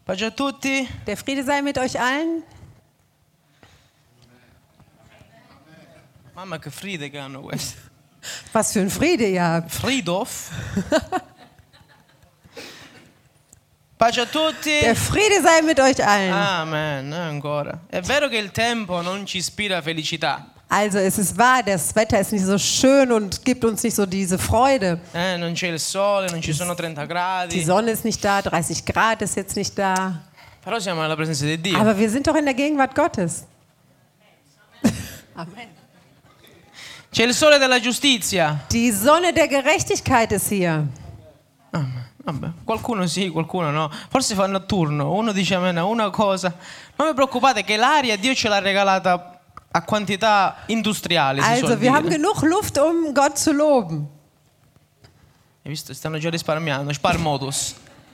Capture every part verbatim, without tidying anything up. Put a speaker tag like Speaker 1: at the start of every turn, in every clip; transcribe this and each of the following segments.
Speaker 1: Pace a tutti.
Speaker 2: Der Friede sei mit euch allen.
Speaker 1: Mamma che Friede che hanno questi.
Speaker 2: Was für ein Friede ihr habt.
Speaker 1: Friedhof. Pace a tutti.
Speaker 2: Der Friede sei mit euch allen.
Speaker 1: Amen, ancora. È vero che il tempo non ci ispira felicità.
Speaker 2: Also es ist wahr, das Wetter ist nicht so schön und gibt uns nicht so diese Freude.
Speaker 1: Eh, non c'è il sole, non ci sono trenta
Speaker 2: Die
Speaker 1: gradi.
Speaker 2: Sonne ist nicht da, dreißig Grad ist jetzt nicht da.
Speaker 1: Però siamo nella presenza di Dio.
Speaker 2: Aber wir sind doch in der Gegenwart Gottes. Amen.
Speaker 1: C'è il sole della giustizia.
Speaker 2: Die Sonne der Gerechtigkeit ist hier.
Speaker 1: Amen. Vabbè, qualcuno sì, qualcuno no. Forse fanno a turno. Uno dice amen a una cosa. Non vi preoccupate che l'aria Dio ce l'ha regalata a quantità industriali. Si
Speaker 2: Also
Speaker 1: suol
Speaker 2: wir haben
Speaker 1: dire.
Speaker 2: genug Luft, um Gott zu loben.
Speaker 1: Hai visto? Stanno già risparmiando. Sparmodus.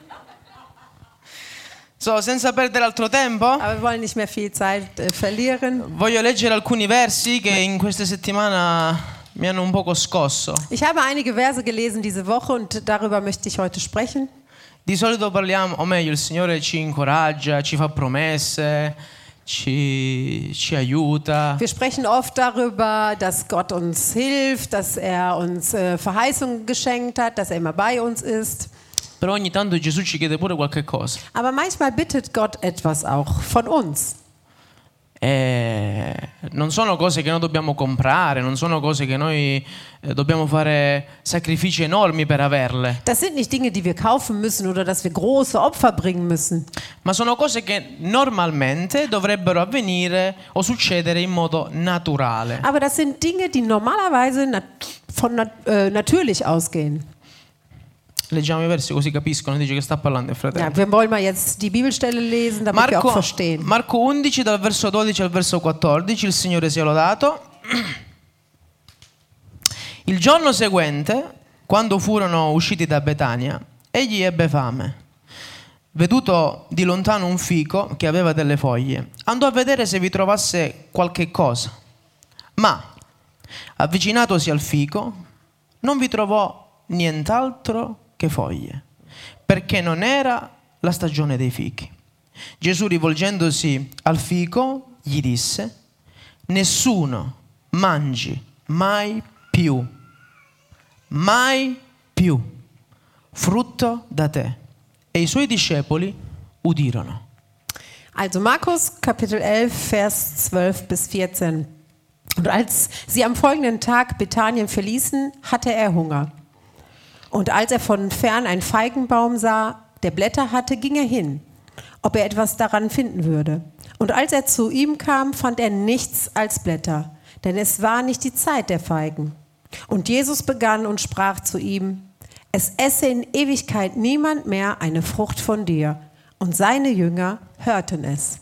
Speaker 1: So, senza perdere altro tempo,
Speaker 2: Aber wir wollen nicht mehr viel Zeit äh, verlieren.
Speaker 1: voglio leggere alcuni versi che in questa settimana mi hanno un poco scosso.
Speaker 2: Ich habe einige Verse gelesen diese Woche und darüber möchte ich heute sprechen.
Speaker 1: Di solito parliamo, o meglio, il Signore ci incoraggia, ci fa promesse, ci, ci aiuta.
Speaker 2: Wir sprechen oft darüber, dass Gott uns hilft, dass er uns äh, Verheißungen geschenkt hat, dass er immer bei uns ist.
Speaker 1: Però ogni tanto Gesù ci chiede pure qualche cosa.
Speaker 2: Aber manchmal bittet Gott etwas auch von uns.
Speaker 1: E non sono cose che noi dobbiamo comprare, non sono cose che noi eh, dobbiamo fare sacrifici enormi per averle,
Speaker 2: Das sind nicht Dinge, die wir kaufen müssen oder dass wir große Opfer bringen müssen.
Speaker 1: ma sono cose che normalmente dovrebbero avvenire o succedere in modo naturale.
Speaker 2: Aber das sind Dinge, die normalerweise nat von nat äh, natürlich ausgehen.
Speaker 1: Leggiamo i versi così capiscono, dice che sta parlando il fratello.
Speaker 2: Ja, wir wollen mal jetzt die Bibelstelle lesen, damit wir auch
Speaker 1: Marco,
Speaker 2: verstehen.
Speaker 1: Marco undici dal verso dodici al verso quattordici, il Signore sia lodato. Il giorno seguente, quando furono usciti da Betania, egli ebbe fame. Veduto di lontano un fico che aveva delle foglie, andò a vedere se vi trovasse qualche cosa. Ma, avvicinatosi al fico, non vi trovò nient'altro che foglie, perché non era la stagione dei fichi. Gesù, rivolgendosi al fico, gli disse: nessuno mangi mai più, mai più frutto da te. E i suoi discepoli udirono.
Speaker 2: Also Markus Kapitel elf, Vers zwölf bis vierzehn. Und als sie am folgenden Tag Bethanien verließen, hatte er Hunger. Und als er von fern einen Feigenbaum sah, der Blätter hatte, ging er hin, ob er etwas daran finden würde. Und als er zu ihm kam, fand er nichts als Blätter, denn es war nicht die Zeit der Feigen. Und Jesus begann und sprach zu ihm: Es esse in Ewigkeit niemand mehr eine Frucht von dir. Und seine Jünger hörten es.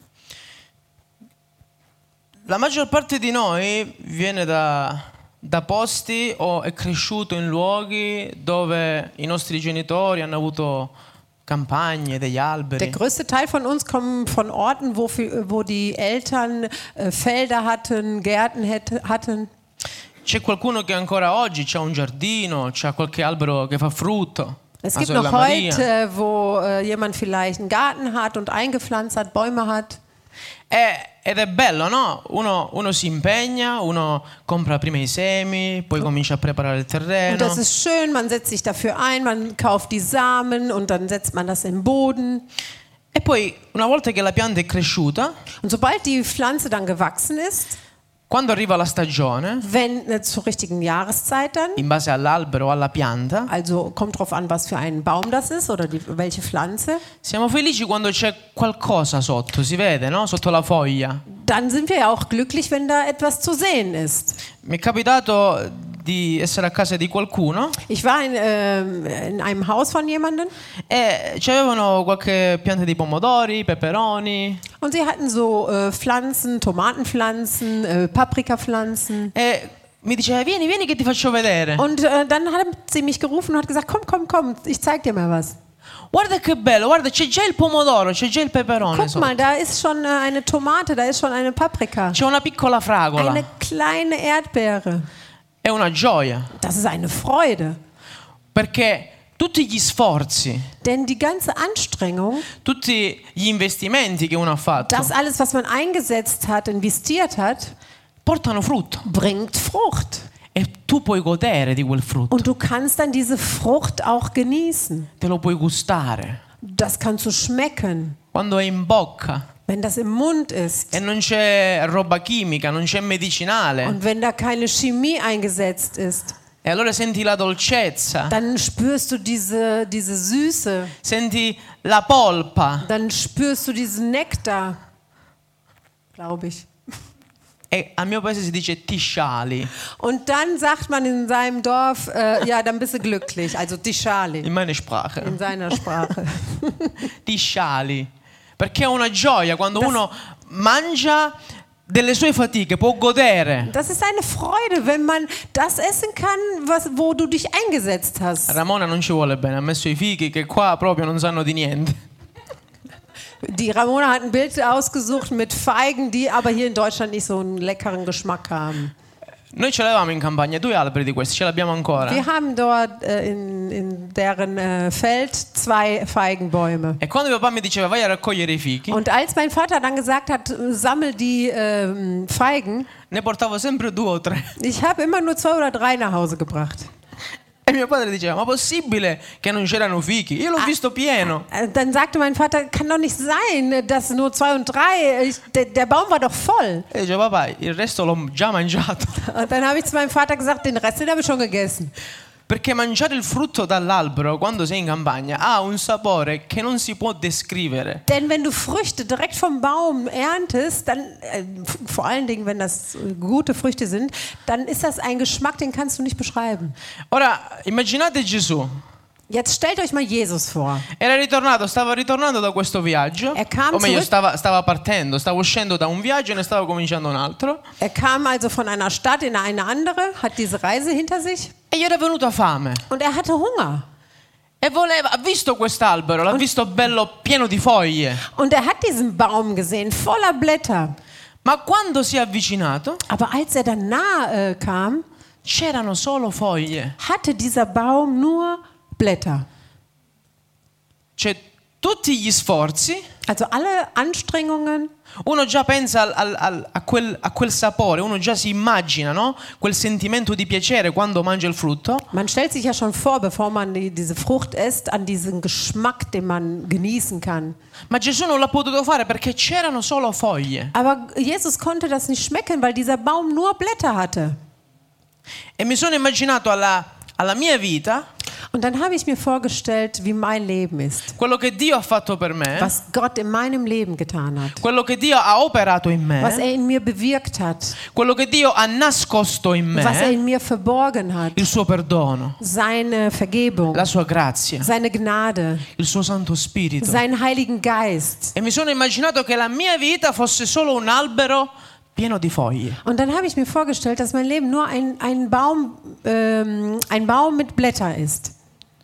Speaker 1: La maggior parte di noi viene da, da posti o è cresciuto in luoghi dove i nostri genitori hanno avuto campagne, degli
Speaker 2: Der
Speaker 1: alberi.
Speaker 2: größte Teil von uns kommen von Orten, wo, viel, wo die Eltern äh, Felder hatten, Gärten hätte, hatten.
Speaker 1: C'è qualcuno che ancora oggi ha un giardino, c'ha qualche albero che fa frutto.
Speaker 2: Es
Speaker 1: La
Speaker 2: gibt
Speaker 1: sorella
Speaker 2: noch
Speaker 1: Maria.
Speaker 2: heute, äh, wo äh, jemand vielleicht einen Garten hat und eingepflanzt hat, Bäume hat.
Speaker 1: E- ed è bello, no? Uno, uno si impegna, uno compra prima i semi, poi comincia a preparare il
Speaker 2: Und
Speaker 1: terreno.
Speaker 2: das ist schön, man setzt sich dafür ein, man kauft die Samen und dann setzt man das im Boden.
Speaker 1: E poi, una volta che la pianta è cresciuta,
Speaker 2: Und sobald die Pflanze dann gewachsen ist,
Speaker 1: quando arriva la stagione,
Speaker 2: wenn äh, zur richtigen Jahreszeit dann,
Speaker 1: in base all'albero o alla pianta,
Speaker 2: also kommt drauf an, was für ein Baum das ist oder die, welche Pflanze,
Speaker 1: siamo felici quando c'è qualcosa sotto, si vede, no? Sotto la foglia.
Speaker 2: dann sind wir ja auch glücklich, wenn da etwas zu sehen ist.
Speaker 1: Mi è capitato di essere a casa di qualcuno
Speaker 2: Ich war in, ähm, in einem Haus von jemandem
Speaker 1: e c'avevano qualche pianta di pomodori, peperoni
Speaker 2: und sie hatten so äh, Pflanzen, Tomatenpflanzen, äh, Paprikapflanzen.
Speaker 1: e mi diceva vieni, vieni che ti faccio vedere.
Speaker 2: Und äh, dann hat sie mich gerufen und hat gesagt, komm, komm, komm, ich zeig dir mal was.
Speaker 1: Guarda che bello, guarda c'è già il pomodoro, c'è già il peperone
Speaker 2: Guck
Speaker 1: sotto.
Speaker 2: mal, da ist schon äh, eine Tomate, da ist schon eine Paprika.
Speaker 1: C'è una piccola fragola.
Speaker 2: Eine kleine Erdbeere.
Speaker 1: È una gioia
Speaker 2: Das ist eine Freude.
Speaker 1: perché tutti gli sforzi,
Speaker 2: Denn die ganze Anstrengung,
Speaker 1: tutti gli investimenti che uno ha fatto,
Speaker 2: das alles, was man eingesetzt hat, investiert hat,
Speaker 1: portano frutto.
Speaker 2: bringt Frucht.
Speaker 1: E tu puoi godere di quel frutto,
Speaker 2: Und du kannst dann diese Frucht auch genießen.
Speaker 1: te lo puoi gustare.
Speaker 2: Das kannst du schmecken,
Speaker 1: Quando è in bocca
Speaker 2: wenn das im Mund ist.
Speaker 1: e non c'è roba chimica, non c'è medicinale,
Speaker 2: Und wenn da keine Chemie eingesetzt ist,
Speaker 1: e allora senti la dolcezza,
Speaker 2: dann spürst du diese, diese Süße,
Speaker 1: senti la polpa
Speaker 2: dann spürst du diesen Nektar, glaube ich.
Speaker 1: e al mio paese si dice ti sciali,
Speaker 2: Und dann sagt man in seinem Dorf, äh, ja, dann bist du glücklich, also Tishali
Speaker 1: in meine Sprache,
Speaker 2: in seiner Sprache.
Speaker 1: ti sciali, perché è una gioia quando uno mangia delle sue fatiche, può godere.
Speaker 2: Das ist eine Freude, wenn man das essen kann, was, wo du dich eingesetzt hast.
Speaker 1: Ramona non ci vuole bene, ha messo i fichi che qua proprio non sanno di niente.
Speaker 2: Die Ramona hat ein Bild ausgesucht mit Feigen, die aber hier in Deutschland nicht so einen leckeren Geschmack haben.
Speaker 1: Noi ce l'avevamo in campagna, due alberi di questi, ce l'abbiamo ancora.
Speaker 2: Wir haben dort äh, in, in deren äh, Feld zwei Feigenbäume.
Speaker 1: E quando mio papà mi diceva vai a raccogliere i fichi,
Speaker 2: Und als mein Vater dann gesagt hat, sammel die ähm, Feigen,
Speaker 1: ne portavo sempre due o tre.
Speaker 2: ich habe immer nur zwei oder drei nach Hause gebracht.
Speaker 1: E mio padre diceva ma possibile che non c'erano fichi? Io l'ho visto pieno.
Speaker 2: Äh, Dann sagte mein Vater, kann doch nicht sein, dass nur zwei und drei, ich, der, der Baum war doch voll.
Speaker 1: E dicevo papà il resto l'ho già mangiato.
Speaker 2: Und dann habe ich zu meinem Vater gesagt, den Rest den habe ich schon gegessen.
Speaker 1: Perché mangiare il frutto dall'albero quando sei in campagna ha un sapore che non si può descrivere.
Speaker 2: Denn wenn du Früchte direkt vom Baum erntest, dann, äh, f- vor allen Dingen, wenn das äh, gute Früchte sind, dann ist das ein Geschmack, den kannst du nicht beschreiben.
Speaker 1: Ora immaginate Gesù.
Speaker 2: Jetzt stellt euch mal Jesus vor.
Speaker 1: Era ritornato, stava ritornando da questo viaggio,
Speaker 2: Er kam
Speaker 1: o meglio
Speaker 2: zurück-
Speaker 1: stava, stava partendo, stava uscendo da un viaggio e ne stava cominciando un altro.
Speaker 2: Er kam also von einer Stadt in eine andere, hat diese Reise hinter sich
Speaker 1: E gli era venuta fame.
Speaker 2: und er hatte Hunger.
Speaker 1: E voleva, ha visto quest'albero, l'ha visto bello pieno di foglie.
Speaker 2: Und er hat diesen Baum gesehen, voller Blätter.
Speaker 1: Ma quando si è avvicinato,
Speaker 2: Aber als er dann nahe äh, kam,
Speaker 1: c'erano solo foglie.
Speaker 2: hatte dieser Baum nur Blätter.
Speaker 1: Cioè, tutti gli sforzi,
Speaker 2: Also alle Anstrengungen,
Speaker 1: uno già pensa al- al- al- a, quel, a quel sapore, uno già si immagina, no? Quel sentimento di piacere quando mangia il frutto.
Speaker 2: man stellt sich ja schon vor, bevor man die, diese Frucht isst, an diesen Geschmack, den man genießen kann.
Speaker 1: Ma Gesù non l'ha potuto fare perché c'erano solo foglie.
Speaker 2: Aber Jesus konnte das nicht schmecken, weil dieser Baum nur Blätter hatte.
Speaker 1: E mi sono immaginato alla, alla mia vita
Speaker 2: Und dann habe ich mir vorgestellt, wie mein Leben ist,
Speaker 1: quello che Dio ha fatto per me,
Speaker 2: was Gott in meinem Leben getan hat,
Speaker 1: quello che Dio ha operato in
Speaker 2: was
Speaker 1: me,
Speaker 2: er in mir bewirkt hat,
Speaker 1: quello che Dio ha nascosto in
Speaker 2: was er
Speaker 1: me,
Speaker 2: in mir verborgen hat,
Speaker 1: il suo perdono,
Speaker 2: seine Vergebung,
Speaker 1: la sua grazia,
Speaker 2: seine Gnade,
Speaker 1: il suo Santo Spirito.
Speaker 2: seinen Heiligen Geist.
Speaker 1: E mi sono immaginato che la mia vita fosse solo un albero pieno di foglie.
Speaker 2: Und dann habe ich mir vorgestellt, dass mein Leben nur ein, ein, Baum, ähm, ein Baum mit Blättern ist.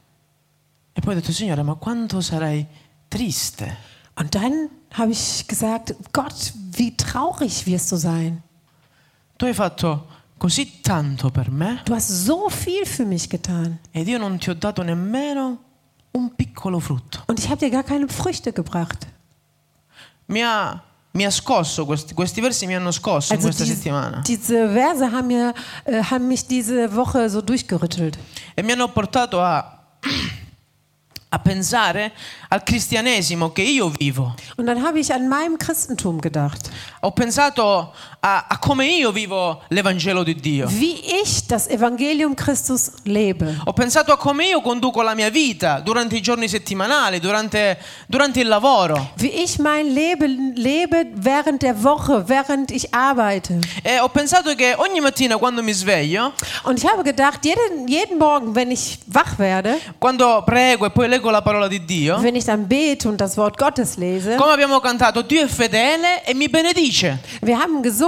Speaker 1: E poi ho detto, Signore, ma quanto sarei triste
Speaker 2: Und dann habe ich gesagt, Gott, wie traurig wirst du sein.
Speaker 1: tu hai fatto così tanto per me
Speaker 2: Du hast so viel für mich getan.
Speaker 1: ed io non ti ho dato nemmeno un piccolo frutto.
Speaker 2: Und ich habe dir gar keine Früchte gebracht.
Speaker 1: Mi ha, mi ha scosso, questi, questi versi mi hanno scosso in
Speaker 2: Also
Speaker 1: questa
Speaker 2: dies,
Speaker 1: settimana
Speaker 2: diese Verse haben, mir, äh, haben mich diese Woche so durchgerüttelt.
Speaker 1: e mi hanno portato a, a pensare al cristianesimo che io vivo.
Speaker 2: Und dann habe ich an meinem Christentum gedacht.
Speaker 1: Ho pensato a, a come io vivo l'Evangelo di Dio.
Speaker 2: Wie ich das Evangelium Christus lebe.
Speaker 1: Ho pensato a come io conduco la mia vita durante i giorni settimanali, durante, durante il lavoro.
Speaker 2: Wie ich mein Leben lebe während der Woche, während ich arbeite.
Speaker 1: E ho pensato che ogni mattina quando mi sveglio,
Speaker 2: Und ich habe gedacht, jeden, jeden Morgen, wenn ich wach werde,
Speaker 1: quando prego e poi leggo la parola di Dio,
Speaker 2: wenn ich dann bete und das Wort Gottes lese,
Speaker 1: come abbiamo cantato, Dio è fedele e mi benedice.
Speaker 2: wir haben gesungen,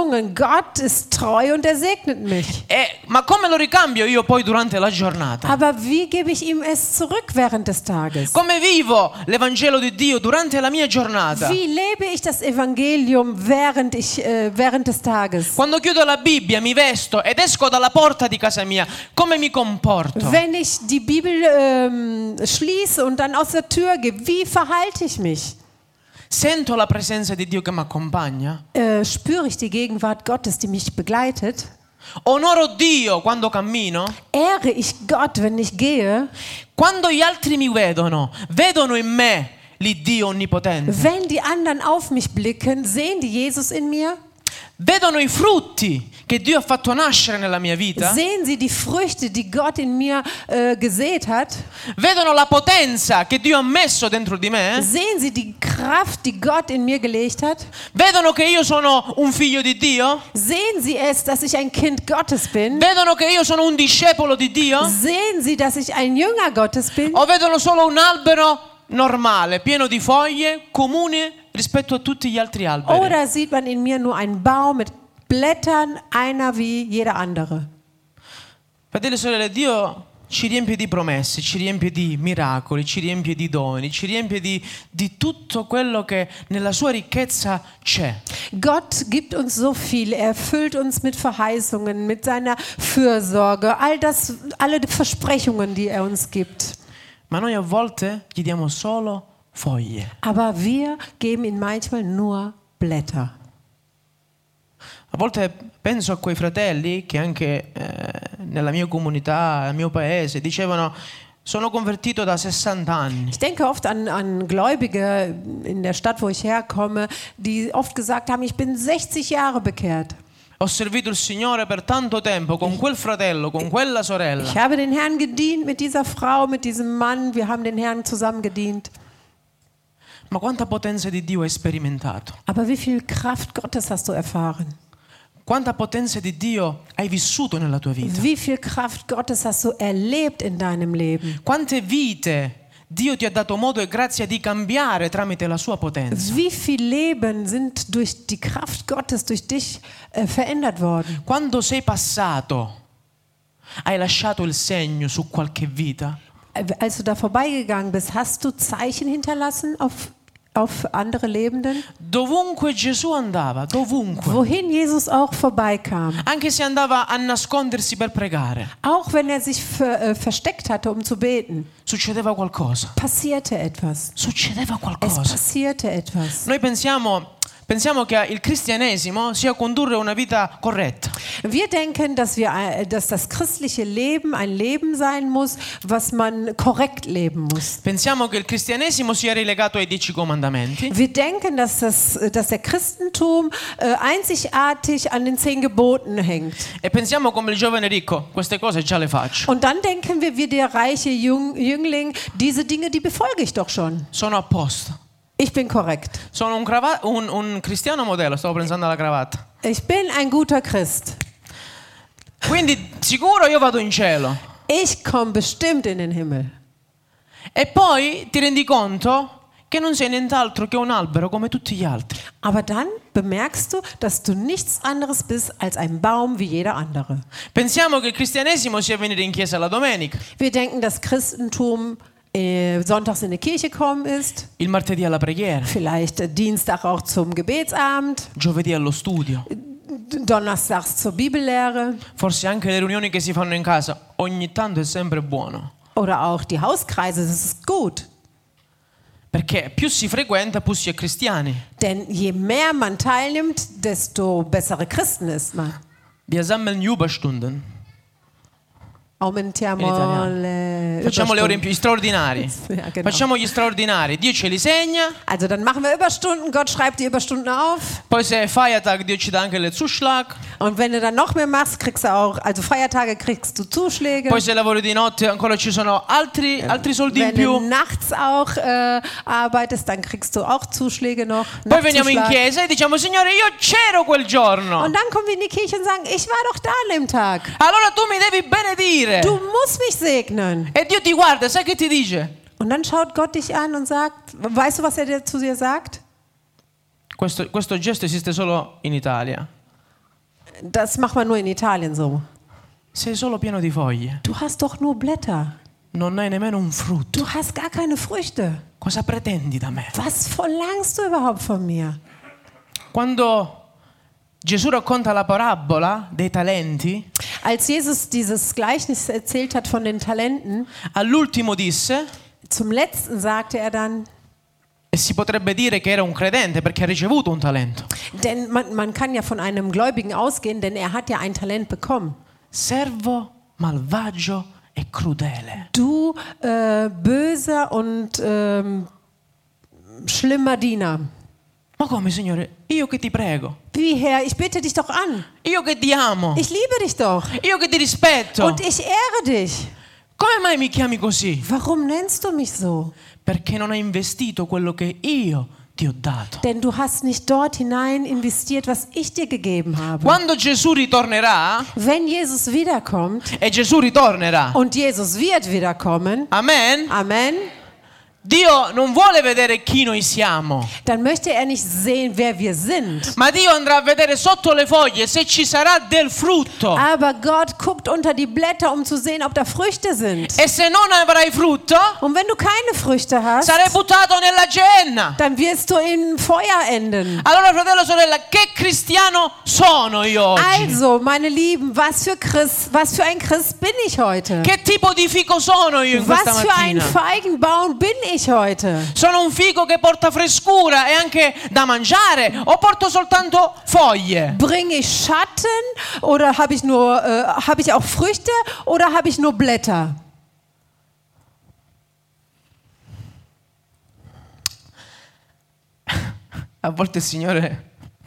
Speaker 2: gesungen, Gott ist treu und er segnet mich.
Speaker 1: E, ma come lo ricambio io poi durante la giornata?
Speaker 2: Aber wie gebe ich ihm es zurück während des Tages?
Speaker 1: Come vivo l'Evangelo di Dio durante la mia giornata?
Speaker 2: Wie lebe ich das Evangelium während, ich, äh, während des Tages?
Speaker 1: Quando chiudo la Bibbia, mi vesto ed esco dalla porta di casa mia, come mi comporto?
Speaker 2: Wenn ich die Bibel ähm, schließe und dann aus der Tür gehe, wie verhalte ich mich?
Speaker 1: Sento la presenza di Dio che mi accompagna?
Speaker 2: Äh, spüre ich die Gegenwart Gottes, die mich begleitet?
Speaker 1: Onoro Dio quando cammino?
Speaker 2: Ehre ich Gott, wenn ich gehe?
Speaker 1: Quando gli altri mi vedono, vedono in me l'Iddio onnipotente?
Speaker 2: Wenn die anderen auf mich blicken, sehen die Jesus in mir?
Speaker 1: Vedono i frutti che Dio ha fatto nascere nella mia vita?
Speaker 2: Sehen sie die Früchte, die Gott in mir äh, gesät hat?
Speaker 1: Vedono la potenza che Dio ha messo dentro di me?
Speaker 2: Sehen sie die Kraft, die Gott in mir gelegt hat?
Speaker 1: Vedono che io sono un figlio di Dio?
Speaker 2: Sehen sie es, dass ich ein Kind Gottes bin?
Speaker 1: Vedono che io sono un discepolo di Dio?
Speaker 2: Sehen sie, dass ich ein Jünger Gottes bin?
Speaker 1: O vedono solo un albero normale, pieno di foglie, comune rispetto a tutti gli altri alberi?
Speaker 2: Oder sieht man in mir nur einen Baum mit Blättern, einer wie jeder andere?
Speaker 1: Fratelli e sorelle, Dio ci riempie di promesse, ci riempie di miracoli, ci riempie di doni, ci riempie di, di tutto quello che nella sua ricchezza c'è.
Speaker 2: Gott gibt uns so viel, er füllt uns mit Verheißungen, mit seiner Fürsorge, all das, alle Versprechungen, die er uns gibt.
Speaker 1: Ma noi a volte gli diamo solo foglie.
Speaker 2: Aber wir geben ihm manchmal nur Blätter.
Speaker 1: A volte penso a quei fratelli che anche eh, nella mia comunità, nel mio paese, dicevano: sono convertito da sessanta anni.
Speaker 2: Ich denke oft an, an Gläubige in der Stadt, wo ich herkomme, die oft gesagt haben, ich bin sechzig Jahre bekehrt.
Speaker 1: Ho servito il Signore per tanto tempo con quel fratello, con quella sorella.
Speaker 2: Ich habe den Herrn gedient mit dieser Frau, mit diesem Mann. Wir haben den Herrn zusammen gedient.
Speaker 1: Ma quanta potenza di Dio hai sperimentato?
Speaker 2: Aber wie viel Kraft Gottes hast du erfahren?
Speaker 1: Quanta potenza di Dio hai vissuto nella tua vita?
Speaker 2: Wie viel Kraft Gottes hast du erlebt in deinem Leben?
Speaker 1: Quante vite Dio ti ha dato modo e grazia di cambiare tramite la sua potenza?
Speaker 2: Wie viel Leben sind durch die Kraft Gottes durch dich äh, verändert worden?
Speaker 1: Quando sei passato, hai lasciato il segno su qualche vita?
Speaker 2: Als du da vorbeigegangen bist, hast du Zeichen hinterlassen auf, auf andere Lebenden?
Speaker 1: Dovunque Gesù andava, dovunque.
Speaker 2: Wohin Jesus auch vorbeikam.
Speaker 1: Anche se andava a nascondersi per pregare,
Speaker 2: Auch wenn er sich ver, äh, versteckt hatte, um zu beten,
Speaker 1: succedeva qualcosa.
Speaker 2: passierte etwas.
Speaker 1: Succedeva
Speaker 2: Es
Speaker 1: qualcosa.
Speaker 2: passierte etwas.
Speaker 1: Noi pensiamo, pensiamo che il cristianesimo sia condurre una vita corretta.
Speaker 2: Wir denken, dass, wir, äh, dass das christliche Leben ein Leben sein muss, was man korrekt leben muss.
Speaker 1: Pensiamo che il cristianesimo sia relegato ai dieci comandamenti.
Speaker 2: Wir denken, dass, das, dass der Christentum äh, einzigartig an den zehn Geboten hängt.
Speaker 1: E pensiamo come il giovane ricco, queste cose già le faccio.
Speaker 2: Und dann denken wir wie der reiche Jüng, Jüngling, diese Dinge, die befolge ich doch schon.
Speaker 1: Sono a posto.
Speaker 2: Ich bin korrekt.
Speaker 1: Sono un, crava- un, un cristiano modello, stavo pensando alla cravatta.
Speaker 2: Ich bin ein guter Christ.
Speaker 1: Quindi sicuro io vado in cielo.
Speaker 2: Ich komme bestimmt in den Himmel.
Speaker 1: E poi ti rendi conto che non sei nient'altro che un albero come tutti gli altri.
Speaker 2: Aber dann bemerkst du, dass du nichts anderes bist als ein Baum wie jeder andere.
Speaker 1: Pensiamo che il cristianesimo sia venire in chiesa la domenica,
Speaker 2: Wir denken, dass Christentum äh, sonntags in die Kirche kommen ist,
Speaker 1: il martedì alla preghiera,
Speaker 2: vielleicht äh, Dienstag auch zum Gebetsabend,
Speaker 1: giovedì allo studio,
Speaker 2: donnerstags zur Bibellehre
Speaker 1: forse anche le riunioni che si fanno in casa. Ogni tanto è sempre buono,
Speaker 2: oder auch die Hauskreise, das ist gut.
Speaker 1: perché più si frequenta, più si è cristiani.
Speaker 2: Denn je mehr man teilnimmt, desto bessere Christen ist man.
Speaker 1: Wir sammeln Überstunden.
Speaker 2: Aumentiamo
Speaker 1: In italiano.
Speaker 2: le
Speaker 1: Facciamo le ore in
Speaker 2: Überstunden.
Speaker 1: più, gli straordinari.
Speaker 2: Ja, genau.
Speaker 1: Facciamo gli straordinari. Dio ce li segna.
Speaker 2: Also dann machen wir Überstunden, Gott schreibt die Überstunden auf.
Speaker 1: Poi se è Feiertag, Dio ci dà anche il Zuschlag.
Speaker 2: Und wenn du dann noch mehr machst, kriegst du auch, also Feiertage kriegst du Zuschläge.
Speaker 1: Poi se lavori di notte ancora ci sono altri, altri soldi in
Speaker 2: Wenn du
Speaker 1: più.
Speaker 2: nachts auch äh, arbeitest, dann kriegst du auch Zuschläge noch.
Speaker 1: Poi veniamo in
Speaker 2: Nachtzuschlag.
Speaker 1: chiesa e diciamo: Signore, io c'ero quel giorno.
Speaker 2: Und dann kommen wir in die Kirche und sagen, ich war doch da an dem Tag.
Speaker 1: Allora tu mi devi benedire.
Speaker 2: Du musst mich segnen.
Speaker 1: E Dio ti guarda, sai che ti dice?
Speaker 2: Und dann schaut Gott dich an und sagt, weißt du, was er dir zu dir sagt?
Speaker 1: Questo, questo gesto esiste solo in Italia.
Speaker 2: Das macht man nur in Italien so.
Speaker 1: Sei solo pieno di foglie.
Speaker 2: Du hast doch nur Blätter.
Speaker 1: Non hai nemmeno un frutto.
Speaker 2: Du hast gar keine Früchte.
Speaker 1: Cosa pretendi da me?
Speaker 2: Was verlangst du überhaupt von mir?
Speaker 1: Quando Gesù racconta la parabola dei talenti,
Speaker 2: Als Jesus dieses Gleichnis erzählt hat von den Talenten,
Speaker 1: all'ultimo disse,
Speaker 2: zum letzten sagte er dann,
Speaker 1: e si potrebbe dire che era un credente perché ha ricevuto un talento:
Speaker 2: denn man, man kann ja von einem Gläubigen ausgehen, denn er hat ja ein Talent bekommen.
Speaker 1: servo malvagio e crudele.
Speaker 2: Du äh, böser und ähm, schlimmer Diener.
Speaker 1: Ma come, Signore? Io che ti prego,
Speaker 2: Wie Herr, ich bitte dich doch an.
Speaker 1: io che ti amo,
Speaker 2: Ich liebe dich doch.
Speaker 1: io che ti rispetto,
Speaker 2: Und ich ehre dich.
Speaker 1: come mai mi chiami così?
Speaker 2: Warum nennst du mich so?
Speaker 1: Perché non hai investito quello che io ti ho dato.
Speaker 2: Denn du hast nicht dort hinein investiert, was ich dir gegeben habe.
Speaker 1: Quando Gesù ritornerà,
Speaker 2: Wenn Jesus wiederkommt,
Speaker 1: e Gesù ritornerà,
Speaker 2: und Jesus wird wiederkommen,
Speaker 1: amen,
Speaker 2: Amen,
Speaker 1: Dio non vuole vedere chi noi siamo,
Speaker 2: dann möchte er nicht sehen, wer wir sind.
Speaker 1: ma Dio andrà a vedere sotto le foglie se ci sarà del frutto.
Speaker 2: Aber Gott guckt unter die Blätter, um zu sehen, ob da Früchte sind.
Speaker 1: E se non avrai frutto,
Speaker 2: Und wenn du keine Früchte hast,
Speaker 1: sarai buttato nella genna.
Speaker 2: dann wirst du in Feuer enden.
Speaker 1: Allora, fratello, sorella, che cristiano sono io oggi?
Speaker 2: Also, meine Lieben, was für Christ, was für ein Christ bin ich heute?
Speaker 1: Che tipo di fico sono io in questa
Speaker 2: Was für ein
Speaker 1: mattina?
Speaker 2: Feigenbaum bin ich heute?
Speaker 1: Sono un fico che porta frescura e anche da mangiare, o porto soltanto foglie?
Speaker 2: Bringe ich Schatten oder habe ich nur, äh, habe ich auch Früchte oder habe ich nur Blätter?
Speaker 1: A volte il Signore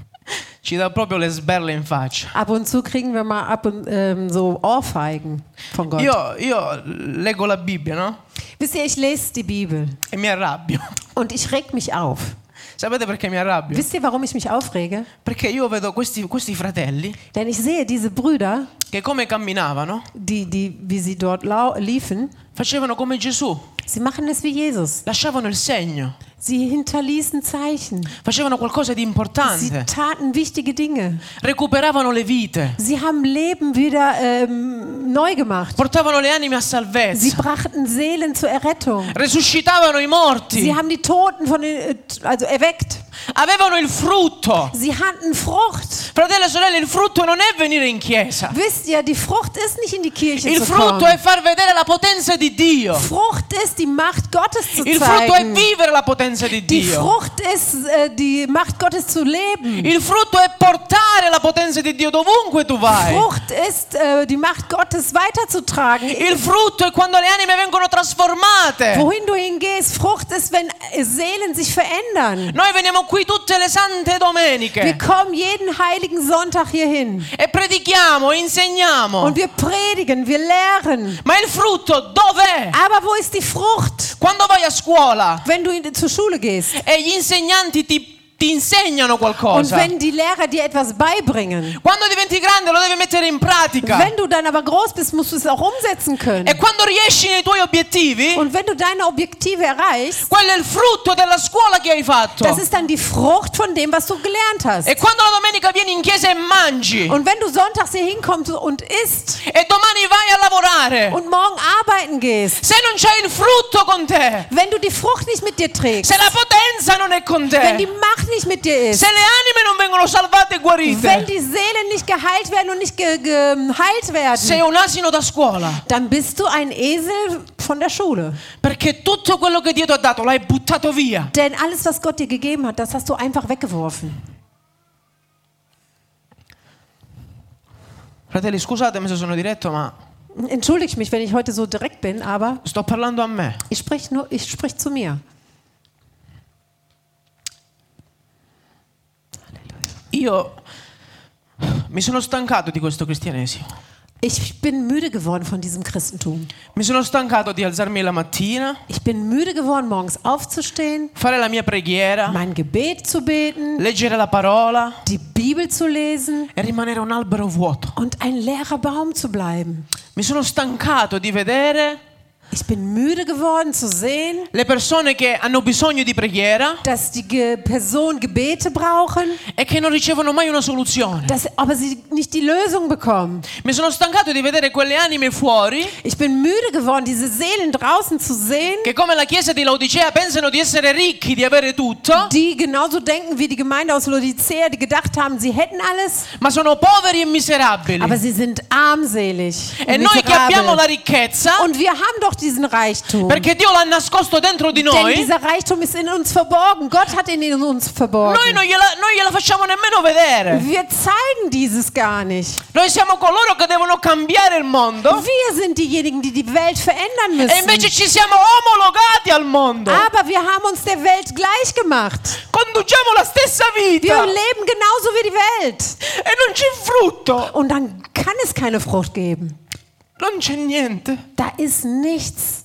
Speaker 1: ci dà proprio le sberle in faccia.
Speaker 2: Ab und zu kriegen wir mal ab und ähm, so Ohrfeigen von Gott.
Speaker 1: Io, io leggo la Bibbia, no?
Speaker 2: Wisst ihr, ich lese die Bibel
Speaker 1: E mi arrabbio.
Speaker 2: und ich reg mich auf.
Speaker 1: Sapete perché mi arrabbio?
Speaker 2: Wisst ihr, warum ich mich aufrege?
Speaker 1: Perché io vedo questi, questi fratelli
Speaker 2: Denn ich sehe diese Brüder,
Speaker 1: che come camminavano,
Speaker 2: die, die, wie sie dort lau liefen,
Speaker 1: facevano come Gesù,
Speaker 2: sie machen es wie Jesus.
Speaker 1: lasciavano il segno,
Speaker 2: Sie hinterließen Zeichen.
Speaker 1: facevano qualcosa di
Speaker 2: Sie
Speaker 1: importante,
Speaker 2: taten wichtige Dinge.
Speaker 1: recuperavano le vite,
Speaker 2: Sie haben Leben wieder ähm, neu gemacht.
Speaker 1: portavano le anime a
Speaker 2: Sie
Speaker 1: salvezza,
Speaker 2: brachten Seelen zur Errettung.
Speaker 1: resuscitavano i morti,
Speaker 2: Sie haben die Toten von den, äh, also erweckt.
Speaker 1: avevano il frutto.
Speaker 2: Sie hatten Frucht.
Speaker 1: Fratello e sorelle, il frutto non è venire in chiesa,
Speaker 2: Wisst ihr, die Frucht ist nicht in die Kirche
Speaker 1: il
Speaker 2: zu
Speaker 1: frutto è
Speaker 2: kommen.
Speaker 1: far vedere la potenza di Dio,
Speaker 2: Frucht ist die Macht Gottes zu
Speaker 1: il frutto è
Speaker 2: zeigen.
Speaker 1: vivere la potenza di
Speaker 2: Die
Speaker 1: Dio,
Speaker 2: Frucht ist äh, die Macht Gottes zu leben.
Speaker 1: il frutto è portare la potenza di Dio dovunque tu vai.
Speaker 2: Frucht ist äh, die Macht Gottes weiterzutragen.
Speaker 1: Il frutto è quando le anime vengono trasformate.
Speaker 2: Wohin du hingehst, Frucht ist, wenn äh, Seelen sich verändern.
Speaker 1: Noi veniamo qui tutte le sante
Speaker 2: Wir
Speaker 1: domeniche
Speaker 2: kommen jeden heiligen Sonntag hier hin
Speaker 1: e predichiamo, insegniamo.
Speaker 2: und wir predigen, wir lehren.
Speaker 1: Ma il frutto dov'è?
Speaker 2: Aber wo ist die Frucht?
Speaker 1: Quando vai a scuola
Speaker 2: Wenn du in, zur Schule gehst
Speaker 1: e gli insegnanti ti, ti insegnano
Speaker 2: und
Speaker 1: qualcosa,
Speaker 2: wenn die Lehrer dir etwas beibringen,
Speaker 1: quando diventi grande lo devi mettere in pratica.
Speaker 2: wenn du dann aber groß bist, musst du es auch umsetzen können.
Speaker 1: E quando riesci nei tuoi obiettivi,
Speaker 2: Und wenn du deine Objektive erreichst,
Speaker 1: quello è il frutto della scuola che hai fatto.
Speaker 2: das ist dann die Frucht von dem, was du gelernt hast.
Speaker 1: E quando la domenica vieni in chiesa e mangi,
Speaker 2: Und wenn du sonntags hier hinkommst und isst
Speaker 1: e domani vai a lavorare,
Speaker 2: und morgen arbeiten gehst,
Speaker 1: se non c'è il frutto con te,
Speaker 2: wenn du die Frucht nicht mit dir trägst,
Speaker 1: se la potenza non è con
Speaker 2: wenn die
Speaker 1: te,
Speaker 2: Macht nicht mit dir ist,
Speaker 1: se le anime non vengono salvate e
Speaker 2: wenn
Speaker 1: guarite,
Speaker 2: die Seelen nicht geheilt werden und nicht ge geheilt
Speaker 1: sei
Speaker 2: werden,
Speaker 1: un asino da scuola.
Speaker 2: dann bist du ein Esel von der Schule.
Speaker 1: Perché tutto quello che Dio ti ha dato l'hai buttato via.
Speaker 2: Denn alles, was Gott dir gegeben hat, das hast du einfach weggeworfen.
Speaker 1: Fratelli, scusatemi se sono diretto, ma
Speaker 2: Entschuldigt mich, wenn ich heute so direkt bin, aber
Speaker 1: sto parlando a me.
Speaker 2: ich spreche nur, ich spreche zu mir.
Speaker 1: Io mi sono stancato di questo cristianesimo.
Speaker 2: Ich bin müde geworden von diesem Christentum.
Speaker 1: Mi sono stancato di alzarmi la mattina,
Speaker 2: Ich bin müde geworden, morgens aufzustehen,
Speaker 1: fare la mia preghiera,
Speaker 2: mein Gebet zu beten,
Speaker 1: leggere la parola
Speaker 2: die Bibel zu lesen
Speaker 1: e rimanere un albero vuoto.
Speaker 2: und ein leerer Baum zu bleiben.
Speaker 1: Mi sono stancato di vedere
Speaker 2: Ich bin müde geworden zu sehen,
Speaker 1: le persone che hanno bisogno di preghiera
Speaker 2: dass die Ge Personen Gebete brauchen,
Speaker 1: e che non ricevono mai una soluzione.
Speaker 2: dass, aber sie nicht die Lösung bekommen.
Speaker 1: Mi sono stancato di vedere quelle anime fuori
Speaker 2: Ich bin müde geworden, diese Seelen draußen zu sehen,
Speaker 1: che come la chiesa di Laodicea pensano di essere ricchi, di avere tutto,
Speaker 2: die genauso denken wie die Gemeinde aus Laodicea, die gedacht haben, sie hätten alles,
Speaker 1: ma sono poveri e miserabili.
Speaker 2: aber sie sind armselig
Speaker 1: E
Speaker 2: und
Speaker 1: noi che abbiamo la
Speaker 2: miserabel.
Speaker 1: ricchezza,
Speaker 2: Und wir haben doch diesen Reichtum.
Speaker 1: perché Dio l'ha nascosto dentro di
Speaker 2: Denn
Speaker 1: noi,
Speaker 2: dieser Reichtum ist in uns verborgen. Gott hat ihn in uns verborgen.
Speaker 1: noi non gliela, non gliela facciamo nemmeno vedere.
Speaker 2: Wir zeigen dieses gar nicht.
Speaker 1: Noi siamo coloro che devono cambiare il mondo
Speaker 2: Wir sind diejenigen, die die Welt verändern
Speaker 1: e invece
Speaker 2: müssen.
Speaker 1: ci siamo omologati al mondo.
Speaker 2: Aber wir haben uns der Welt gleich gemacht.
Speaker 1: Conduciamo la stessa
Speaker 2: Wir
Speaker 1: vita
Speaker 2: leben genauso wie die Welt.
Speaker 1: e non c'è frutto,
Speaker 2: Und dann kann es keine Frucht geben.
Speaker 1: non c'è niente.
Speaker 2: Da ist nichts.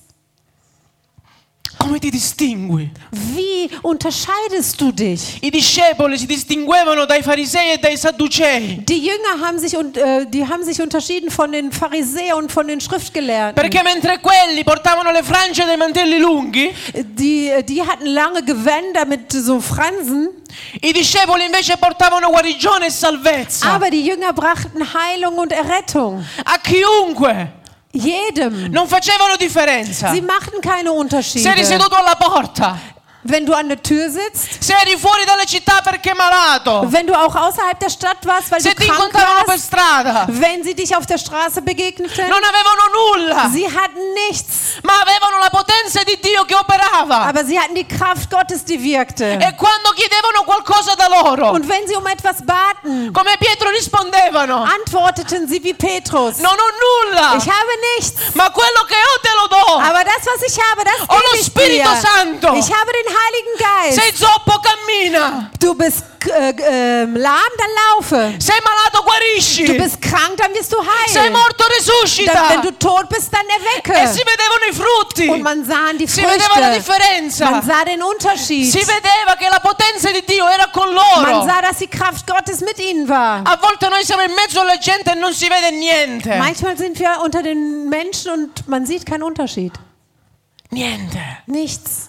Speaker 1: Come ti distingui?
Speaker 2: Wie unterscheidest du dich?
Speaker 1: I discepoli si distinguevano dai farisei e dai sadducei
Speaker 2: Die Jünger haben sich, und, äh, die haben sich unterschieden von den Pharisäern und von den Schriftgelehrten.
Speaker 1: perché mentre quelli portavano le frange dei mantelli lunghi,
Speaker 2: Die, die hatten lange Gewänder mit so Fransen,
Speaker 1: i discepoli invece portavano guarigione e salvezza
Speaker 2: aber die Jünger brachten Heilung und Errettung.
Speaker 1: a chiunque.
Speaker 2: Jedem.
Speaker 1: Non facevano differenza.
Speaker 2: Sie machten keine
Speaker 1: Se eri
Speaker 2: Unterschiede.
Speaker 1: seduto alla porta,
Speaker 2: Wenn du an der Tür sitzt,
Speaker 1: se eri fuori dalle città perché malato,
Speaker 2: wenn du auch außerhalb der Stadt warst, weil
Speaker 1: se
Speaker 2: du
Speaker 1: ti
Speaker 2: krank
Speaker 1: incontravano per
Speaker 2: warst,
Speaker 1: strada,
Speaker 2: wenn sie dich auf der Straße begegneten,
Speaker 1: non avevano nulla,
Speaker 2: sie hatten nichts,
Speaker 1: ma avevano la potenza di Dio che operava.
Speaker 2: aber sie hatten die Kraft Gottes, die wirkte.
Speaker 1: E quando chiedevano qualcosa da loro,
Speaker 2: Und wenn sie um etwas baten,
Speaker 1: come Pietro rispondevano,
Speaker 2: antworteten sie wie Petrus:
Speaker 1: non ho nulla,
Speaker 2: Ich habe nichts,
Speaker 1: ma quello che ho te lo do.
Speaker 2: aber das, was ich habe, das
Speaker 1: Ho lo
Speaker 2: gebe ich dir.
Speaker 1: Spirito Santo.
Speaker 2: Ich habe den Heiligen Geist.
Speaker 1: Sei zoppo, cammina.
Speaker 2: Du bist äh, äh, lahm, dann laufe.
Speaker 1: Sei malato,
Speaker 2: Du
Speaker 1: guarisci.
Speaker 2: bist krank, dann wirst du
Speaker 1: Sei
Speaker 2: heil.
Speaker 1: morto,
Speaker 2: Dann,
Speaker 1: resuscita.
Speaker 2: wenn du tot bist, dann
Speaker 1: E
Speaker 2: erwecke.
Speaker 1: si vedevano i frutti.
Speaker 2: Und man sah die
Speaker 1: Si vedeva la
Speaker 2: Früchte.
Speaker 1: differenza.
Speaker 2: Man sah den Unterschied.
Speaker 1: Si vedeva che la potenza di Dio era con
Speaker 2: Man
Speaker 1: loro.
Speaker 2: sah, dass die Kraft Gottes mit ihnen war.
Speaker 1: A volte noi siamo in mezzo alla gente e non si vede niente.
Speaker 2: Manchmal sind wir unter den Menschen und man sieht keinen Unterschied.
Speaker 1: Niente.
Speaker 2: Nichts.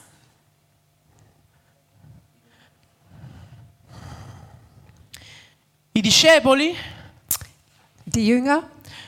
Speaker 1: I discepoli,
Speaker 2: Die Jünger,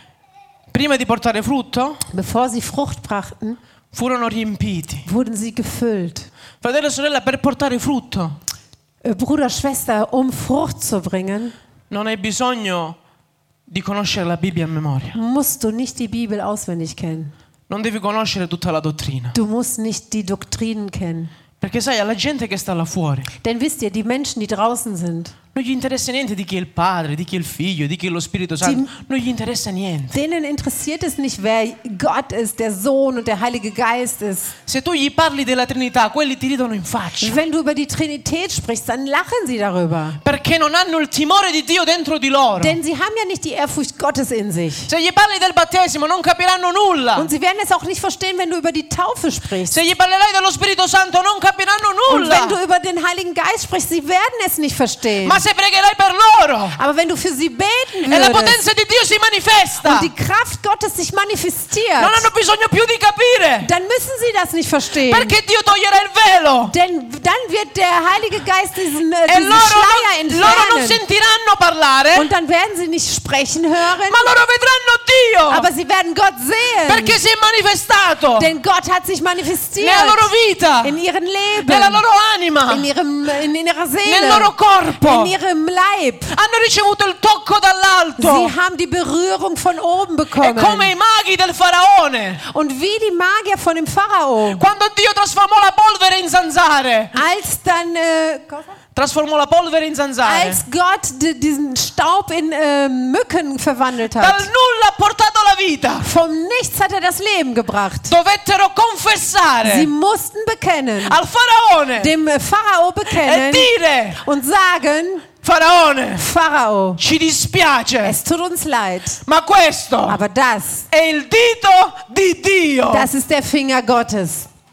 Speaker 1: prima di portare frutto,
Speaker 2: bevor sie Frucht brachten,
Speaker 1: furono riempiti.
Speaker 2: wurden sie gefüllt.
Speaker 1: Fratello e sorella, per portare frutto
Speaker 2: Äh, Bruder, Schwester, um Frucht zu bringen,
Speaker 1: non hai bisogno di conoscere la Bibbia a memoria.
Speaker 2: musst du nicht die Bibel auswendig kennen.
Speaker 1: Non devi conoscere tutta la dottrina.
Speaker 2: Du musst nicht die Doktrinen kennen.
Speaker 1: Perché sai, alla gente che sta là fuori
Speaker 2: Denn wisst ihr, die Menschen, die draußen sind,
Speaker 1: non gli interessa niente di chi è il Padre, di chi è il Figlio, di chi è lo Spirito Santo. Non gli interessa niente.
Speaker 2: denen interessiert es nicht, wer Gott ist, der Sohn und der Heilige Geist ist.
Speaker 1: Se tu gli parli della Trinità, quelli ti ridono in faccia.
Speaker 2: Wenn du über die Trinität sprichst, dann lachen sie darüber.
Speaker 1: Perché non hanno il timore di Dio dentro di loro.
Speaker 2: Denn sie haben ja nicht die Ehrfurcht Gottes in sich.
Speaker 1: Se gli parli del battesimo non capiranno nulla.
Speaker 2: Und sie werden es auch nicht verstehen, wenn du über die Taufe sprichst.
Speaker 1: Se gli parlerai dello Spirito Santo non capiranno
Speaker 2: Und wenn du
Speaker 1: nulla.
Speaker 2: über den Heiligen Geist sprichst, sie werden es nicht verstehen.
Speaker 1: Ma se pregherai per loro
Speaker 2: Aber wenn du für sie beten
Speaker 1: e la
Speaker 2: würdest
Speaker 1: potenza di Dio si manifesta,
Speaker 2: und die Kraft Gottes sich manifestiert,
Speaker 1: non hanno bisogno più di capire.
Speaker 2: dann müssen sie das nicht verstehen.
Speaker 1: Perché Dio toglierà il velo.
Speaker 2: Denn dann wird der Heilige Geist diesen, äh,
Speaker 1: E
Speaker 2: diesen
Speaker 1: loro
Speaker 2: Schleier
Speaker 1: non, loro non
Speaker 2: entfernen.
Speaker 1: sentiranno parlare,
Speaker 2: Und dann werden sie nicht sprechen hören,
Speaker 1: ma loro vedranno Dio.
Speaker 2: aber sie werden Gott sehen.
Speaker 1: Perché si è manifestato
Speaker 2: Denn Gott hat sich manifestiert
Speaker 1: nella loro vita,
Speaker 2: in ihrem Leben,
Speaker 1: nella loro anima,
Speaker 2: in, ihrem, in ihrer
Speaker 1: nel
Speaker 2: Seele,
Speaker 1: loro corpo.
Speaker 2: in ihrem Leib.
Speaker 1: Hanno ricevuto il tocco dall'alto.
Speaker 2: Sie haben die Berührung von oben
Speaker 1: È come
Speaker 2: bekommen.
Speaker 1: i maghi del faraone.
Speaker 2: Und wie die Magier von dem Pharao,
Speaker 1: Quando Dio trasformò la polvere in zanzare.
Speaker 2: als dann äh,
Speaker 1: Trasformò la polvere in zanzare.
Speaker 2: als Gott di- diesen Staub in äh, Mücken verwandelt
Speaker 1: Dal
Speaker 2: hat.
Speaker 1: nulla ha portato la vita.
Speaker 2: Vom Nichts hat er das Leben gebracht.
Speaker 1: Dovettero
Speaker 2: Sie
Speaker 1: confessare
Speaker 2: mussten bekennen,
Speaker 1: al faraone
Speaker 2: dem äh, Pharao
Speaker 1: e
Speaker 2: bekennen
Speaker 1: dire:
Speaker 2: und sagen,
Speaker 1: Faraone,
Speaker 2: Pharao,
Speaker 1: ci dispiace,
Speaker 2: es tut uns leid,
Speaker 1: ma questo
Speaker 2: aber das,
Speaker 1: è il dito di Dio.
Speaker 2: das ist der Finger Gottes.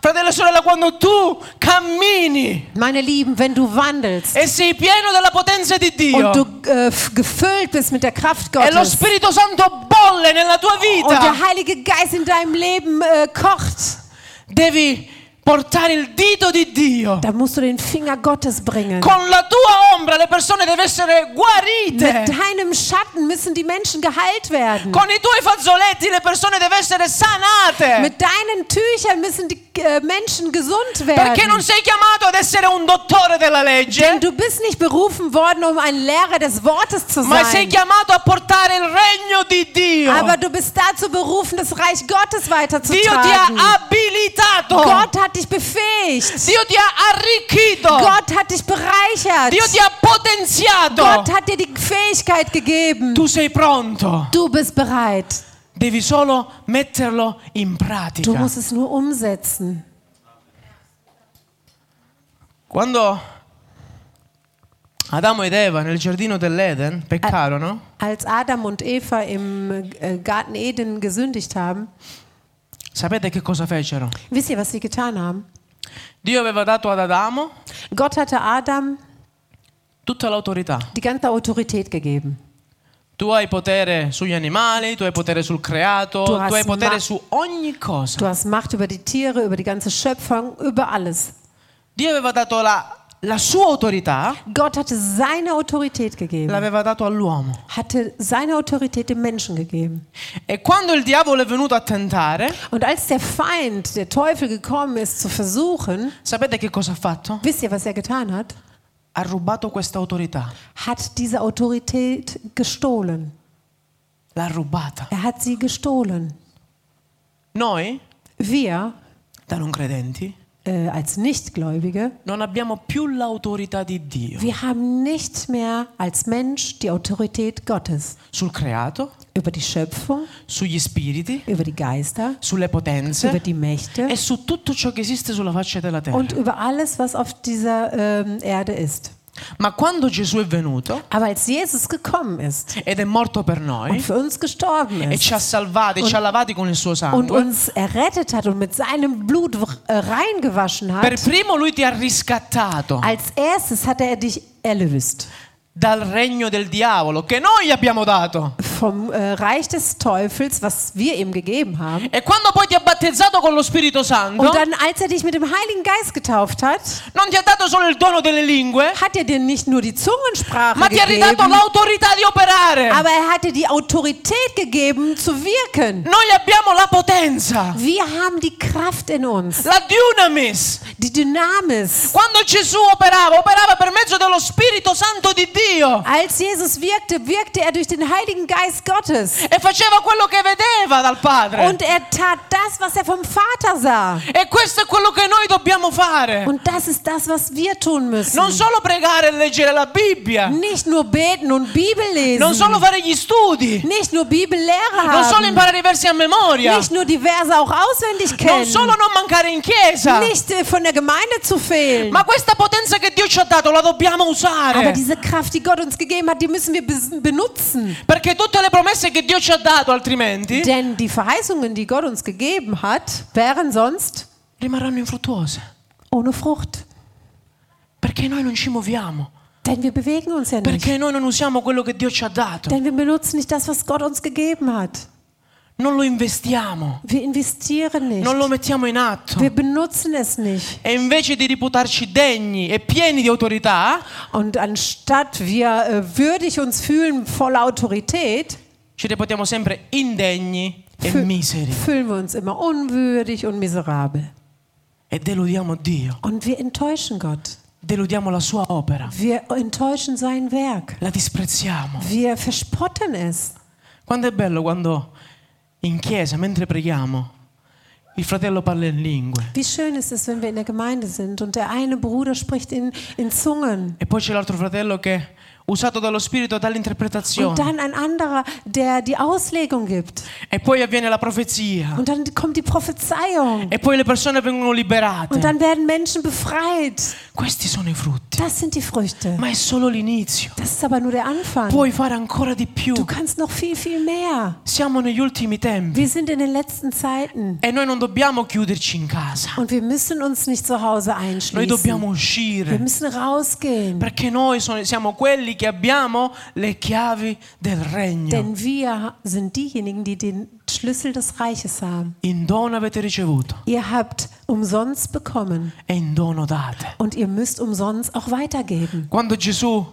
Speaker 1: Fratello e sorella, quando tu cammini
Speaker 2: Meine Lieben, wenn du wandelst
Speaker 1: e sei pieno della potenza di Dio
Speaker 2: und du äh, f- gefüllt bist mit der Kraft
Speaker 1: e lo
Speaker 2: Gottes
Speaker 1: Spirito Santo bolle nella tua
Speaker 2: und
Speaker 1: vita,
Speaker 2: der Heilige Geist in deinem Leben äh, kocht,
Speaker 1: devi portare il dito di Dio.
Speaker 2: dann musst du den Finger Gottes bringen.
Speaker 1: Con la tua ombra le persone devono essere guarite.
Speaker 2: Mit deinem Schatten müssen die Menschen geheilt werden.
Speaker 1: Con i tuoi fazzoletti le persone devono essere sanate.
Speaker 2: Mit deinen Tüchern müssen die äh, Menschen gesund
Speaker 1: Perché non
Speaker 2: werden.
Speaker 1: sei chiamato ad essere un dottore della legge,
Speaker 2: Denn du bist nicht berufen worden, um ein Lehrer des Wortes zu
Speaker 1: ma sei
Speaker 2: sein.
Speaker 1: chiamato a portare il regno di Dio.
Speaker 2: Aber du bist dazu berufen, das Reich Gottes
Speaker 1: Dio ti
Speaker 2: weiterzutragen.
Speaker 1: ha abilitato.
Speaker 2: Gott hat dich befähigt.
Speaker 1: Dio ti ha arricchito.
Speaker 2: Gott hat dich bereichert.
Speaker 1: Dio ti ha potenziato.
Speaker 2: Gott hat dir die Fähigkeit gegeben.
Speaker 1: Tu sei pronto.
Speaker 2: Du bist bereit.
Speaker 1: Devi solo metterlo in
Speaker 2: Du
Speaker 1: pratica.
Speaker 2: musst es nur umsetzen.
Speaker 1: Quando Adamo ed Eva nel giardino dell'Eden peccarono,
Speaker 2: Als Adam und Eva im äh, Garten Eden gesündigt haben,
Speaker 1: sapete che cosa fecero?
Speaker 2: wisst ihr, was sie getan haben?
Speaker 1: Dio aveva dato ad Adamo
Speaker 2: Gott hatte Adam
Speaker 1: tutta l'autorità.
Speaker 2: die ganze Autorität gegeben.
Speaker 1: Tu hai potere sugli animali, tu hai potere sul creato,
Speaker 2: Tu
Speaker 1: tu,
Speaker 2: hast
Speaker 1: hai potere
Speaker 2: ma-
Speaker 1: su ogni cosa.
Speaker 2: Du hast Macht über die Tiere, über die ganze Schöpfung, über alles.
Speaker 1: Dio aveva dato la, la sua autorità,
Speaker 2: Gott hatte seine Autorität gegeben,
Speaker 1: l'aveva dato all'uomo.
Speaker 2: hatte seine Autorität dem Menschen gegeben.
Speaker 1: E quando il diavolo è venuto a tentare,
Speaker 2: Und als der Feind, der Teufel, gekommen ist zu versuchen,
Speaker 1: sapete che cosa ha fatto?
Speaker 2: wisst ihr, was er getan hat?
Speaker 1: Ha rubato questa autorità.
Speaker 2: Hat diese Autorität gestohlen.
Speaker 1: L'ha rubata.
Speaker 2: Er hat sie gestohlen.
Speaker 1: Noi,
Speaker 2: Wir,
Speaker 1: da non credenti,
Speaker 2: äh, als Nichtgläubige,
Speaker 1: non abbiamo più l'autorità di Dio
Speaker 2: wir haben nicht mehr als Mensch die Autorität Gottes
Speaker 1: sul creato,
Speaker 2: über die Schöpfung,
Speaker 1: sugli spiriti,
Speaker 2: über die Geister,
Speaker 1: sulle
Speaker 2: über
Speaker 1: potenze
Speaker 2: die Mächte
Speaker 1: e su tutto ciò che esiste sulla faccia della terra.
Speaker 2: und über alles, was auf dieser ähm, Erde ist.
Speaker 1: Ma quando Gesù è venuto
Speaker 2: Aber als Jesus gekommen ist
Speaker 1: ed è morto per
Speaker 2: und
Speaker 1: noi
Speaker 2: für uns gestorben
Speaker 1: e ci
Speaker 2: ist
Speaker 1: ha salvati e ci ha lavati con il suo
Speaker 2: und
Speaker 1: sangue,
Speaker 2: uns errettet hat und mit seinem Blut äh, reingewaschen
Speaker 1: per
Speaker 2: hat,
Speaker 1: primo lui ti ha riscattato
Speaker 2: als erstes hat er dich erlöst
Speaker 1: dal regno del diavolo che noi abbiamo dato.
Speaker 2: vom äh, Reich des Teufels, was wir ihm gegeben haben.
Speaker 1: E quando poi ti ha battezzato con lo Spirito Santo,
Speaker 2: Und dann, als er dich mit dem Heiligen Geist getauft hat,
Speaker 1: non ti ha dato solo il dono delle lingue,
Speaker 2: hat er dir nicht nur die Zungensprache
Speaker 1: ma ti ha ridato
Speaker 2: gegeben,
Speaker 1: l'autorità di operare.
Speaker 2: aber er hat dir die Autorität gegeben, zu wirken.
Speaker 1: Noi abbiamo la potenza,
Speaker 2: Wir haben die Kraft in uns,
Speaker 1: la dunamis.
Speaker 2: die Dynamis.
Speaker 1: Quando Gesù operava, operava per mezzo dello Spirito Santo di Dio
Speaker 2: Als Jesus wirkte, wirkte er durch den Heiligen Geist Gottes.
Speaker 1: e faceva quello che vedeva dal Padre.
Speaker 2: Und er tat das, was er vom Vater sah.
Speaker 1: E questo è quello che noi dobbiamo fare.
Speaker 2: Und das ist das, was wir tun müssen.
Speaker 1: Non solo pregare e leggere la Bibbia,
Speaker 2: Nicht nur beten und Bibel
Speaker 1: non solo
Speaker 2: lesen.
Speaker 1: fare gli studi,
Speaker 2: Nicht nur Bibellehre
Speaker 1: non solo
Speaker 2: haben.
Speaker 1: imparare i versi a memoria,
Speaker 2: Nicht nur die Verse auch auswendig
Speaker 1: non
Speaker 2: kennen.
Speaker 1: solo non mancare in chiesa,
Speaker 2: Nicht äh, von der Gemeinde zu fehlen.
Speaker 1: ma questa potenza che Dio ci ha dato la dobbiamo
Speaker 2: Aber
Speaker 1: usare.
Speaker 2: diese Kraft, die Gott uns gegeben hat, die müssen wir bes- benutzen.
Speaker 1: Perché tutte le promesse che Dio ci ha dato, altrimenti,
Speaker 2: Denn die Verheißungen, die Gott uns gegeben hat, wären sonst
Speaker 1: rimarranno infruttuose.
Speaker 2: ohne Frucht.
Speaker 1: Perché noi non ci muoviamo.
Speaker 2: Denn wir bewegen uns ja nicht.
Speaker 1: Perché noi non usiamo quello che Dio ci ha dato.
Speaker 2: Denn wir benutzen nicht das, was Gott uns gegeben hat.
Speaker 1: Non lo investiamo.
Speaker 2: Wir investieren nicht.
Speaker 1: Non lo mettiamo in atto.
Speaker 2: Wir benutzen es nicht.
Speaker 1: E invece di reputarci degni e pieni di autorità,
Speaker 2: Und anstatt wir äh, würdig uns fühlen, voller Autorität,
Speaker 1: ci reputiamo sempre indegni e
Speaker 2: fü-
Speaker 1: miseri.
Speaker 2: fühlen wir uns immer unwürdig und miserabel.
Speaker 1: E deludiamo Dio.
Speaker 2: Und wir enttäuschen Gott.
Speaker 1: Deludiamo la sua opera.
Speaker 2: Wir enttäuschen sein Werk.
Speaker 1: La disprezziamo.
Speaker 2: Wir verspotten es.
Speaker 1: Quanto è bello quando in chiesa, mentre preghiamo, il fratello parla in lingue.
Speaker 2: Wie schön ist es, wenn wir in der Gemeinde sind und der eine Bruder spricht in, in Zungen.
Speaker 1: E poi c'è l'altro fratello che usato dallo Spirito
Speaker 2: Und
Speaker 1: dall'interpretazione.
Speaker 2: dann ein anderer, der die Auslegung gibt.
Speaker 1: E poi avviene la profezia.
Speaker 2: Und dann kommt die Prophezeiung.
Speaker 1: E poi le persone vengono liberate.
Speaker 2: Und dann werden Menschen befreit.
Speaker 1: Questi sono i frutti.
Speaker 2: Das sind die Früchte.
Speaker 1: Ma è solo l'inizio.
Speaker 2: Das ist aber nur der Anfang.
Speaker 1: Puoi fare ancora di più.
Speaker 2: Du kannst noch viel, viel mehr.
Speaker 1: Siamo negli ultimi tempi.
Speaker 2: Wir sind in den letzten Zeiten.
Speaker 1: E noi non dobbiamo chiuderci in casa.
Speaker 2: Und wir müssen uns nicht zu Hause
Speaker 1: Noi
Speaker 2: einschließen.
Speaker 1: dobbiamo
Speaker 2: Wir
Speaker 1: uscire.
Speaker 2: müssen rausgehen.
Speaker 1: Perché noi sono- siamo quelli che abbiamo le chiavi del regno.
Speaker 2: Denn wir sind diejenigen, die den Schlüssel des Reiches haben.
Speaker 1: In dono avete ricevuto
Speaker 2: Ihr habt umsonst bekommen
Speaker 1: e in dono date.
Speaker 2: und ihr müsst umsonst auch weitergeben.
Speaker 1: Quando Gesù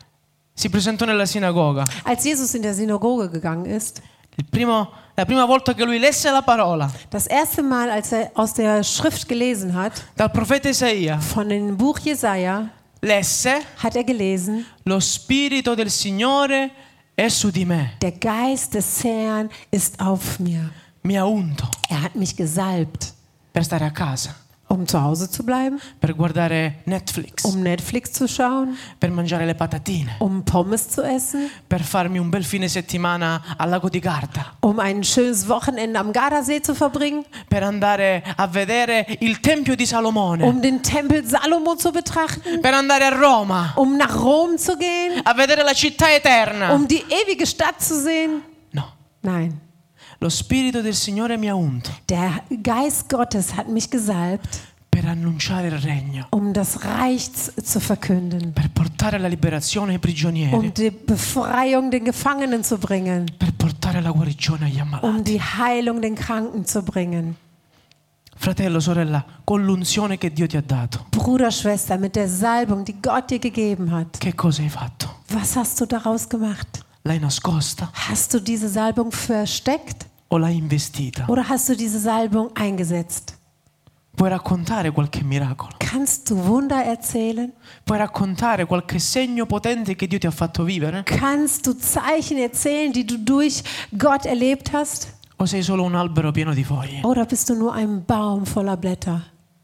Speaker 1: si presentò nella sinagoga,
Speaker 2: Als Jesus in der Synagoge gegangen ist,
Speaker 1: il primo- la prima volta che lui lesse la parola
Speaker 2: das erste Mal, als er aus der Schrift gelesen hat,
Speaker 1: dal profeta Isaia,
Speaker 2: von dem Buch Jesaja,
Speaker 1: lesse:
Speaker 2: hat er gelesen:
Speaker 1: Lo spirito del Signore è su di me,
Speaker 2: Der Geist des Herrn ist auf mir.
Speaker 1: mi ha unto
Speaker 2: Er hat mich gesalbt,
Speaker 1: per stare a casa,
Speaker 2: um zu Hause zu bleiben,
Speaker 1: per guardare Netflix,
Speaker 2: um Netflix zu schauen,
Speaker 1: per mangiare le patatine,
Speaker 2: um Pommes zu essen,
Speaker 1: per farmi un bel fine settimana al lago di Garda,
Speaker 2: um ein schönes Wochenende am Gardasee zu verbringen,
Speaker 1: per andare a vedere il Tempio di Salomone,
Speaker 2: um den Tempel Salomo zu betrachten,
Speaker 1: per andare a Roma,
Speaker 2: um nach Rom zu gehen,
Speaker 1: a vedere la città eterna.
Speaker 2: um die ewige Stadt zu sehen.
Speaker 1: No,
Speaker 2: Nein,
Speaker 1: lo Spirito del Signore mi ha unto
Speaker 2: der Geist Gottes hat mich gesalbt,
Speaker 1: per annunciare il regno,
Speaker 2: um das Reich z- zu verkünden,
Speaker 1: per portare la liberazione ai prigionieri,
Speaker 2: um die Befreiung den Gefangenen zu bringen,
Speaker 1: per portare la guarigione agli ammalati.
Speaker 2: um die Heilung den Kranken zu bringen.
Speaker 1: Fratello, sorella, con l'unzione che Dio ti ha dato,
Speaker 2: Bruder, Schwester, mit der Salbung, die Gott dir gegeben hat,
Speaker 1: che cosa hai fatto?
Speaker 2: was hast du daraus gemacht?
Speaker 1: L'hai nascosta
Speaker 2: Hast du diese Salbung versteckt
Speaker 1: o l'hai investita?
Speaker 2: oder hast du diese Salbung eingesetzt?
Speaker 1: Puoi raccontare qualche miracolo?
Speaker 2: Kannst du Wunder erzählen?
Speaker 1: Puoi raccontare qualche segno potente che Dio ti ha fatto vivere?
Speaker 2: Kannst du Zeichen erzählen, die du durch Gott erlebt hast?
Speaker 1: O sei solo un albero pieno di foglie?
Speaker 2: Oder bist du nur ein Baum voller Blätter?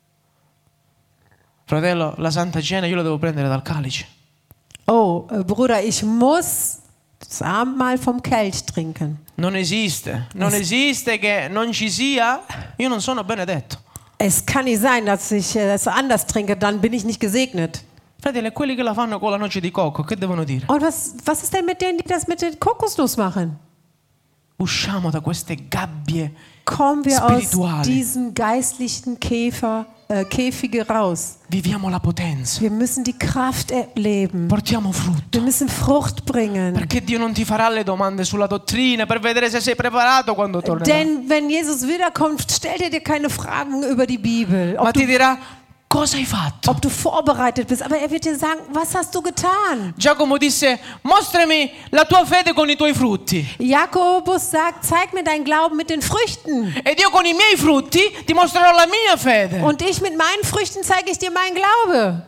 Speaker 1: Fratello, la Santa Cena io la devo prendere dal calice.
Speaker 2: Oh, äh, Bruder, ich muss das Abendmahl vom Kelch trinken.
Speaker 1: Non esiste, non esiste che non ci sia. Io non sono benedetto.
Speaker 2: Es kann nicht sein, dass ich äh, das anders trinke, dann bin ich nicht gesegnet.
Speaker 1: Fratello, e quelli che la fanno con la noce di cocco, che devono dire?
Speaker 2: Und was, was ist denn mit denen, die das mit den Kokosnuss machen?
Speaker 1: Usciamo da queste gabbie
Speaker 2: Kommen wir aus
Speaker 1: spirituali.
Speaker 2: diesen geistlichen Käfer, äh, Käfige raus.
Speaker 1: Viviamo la potenza.
Speaker 2: Wir müssen die Kraft erleben.
Speaker 1: Portiamo frutto.
Speaker 2: Wir müssen Frucht bringen.
Speaker 1: Perché Dio non ti farà le domande sulla dottrina per vedere se sei preparato quando tornerà.
Speaker 2: Denn wenn Jesus wiederkommt, stellt er dir keine Fragen über die Bibel,
Speaker 1: Ma
Speaker 2: ob
Speaker 1: ti
Speaker 2: du,
Speaker 1: dirà: cosa hai fatto?
Speaker 2: ob du vorbereitet bist. Aber er wird dir sagen, was hast du getan?
Speaker 1: Giacomo disse: mostrami la tua fede con i tuoi frutti.
Speaker 2: Jakobus sagt, zeig mir deinen Glauben mit den Früchten.
Speaker 1: Ed io con i miei frutti ti mostrerò la mia fede.
Speaker 2: Und ich mit meinen Früchten zeige ich dir meinen Glaube.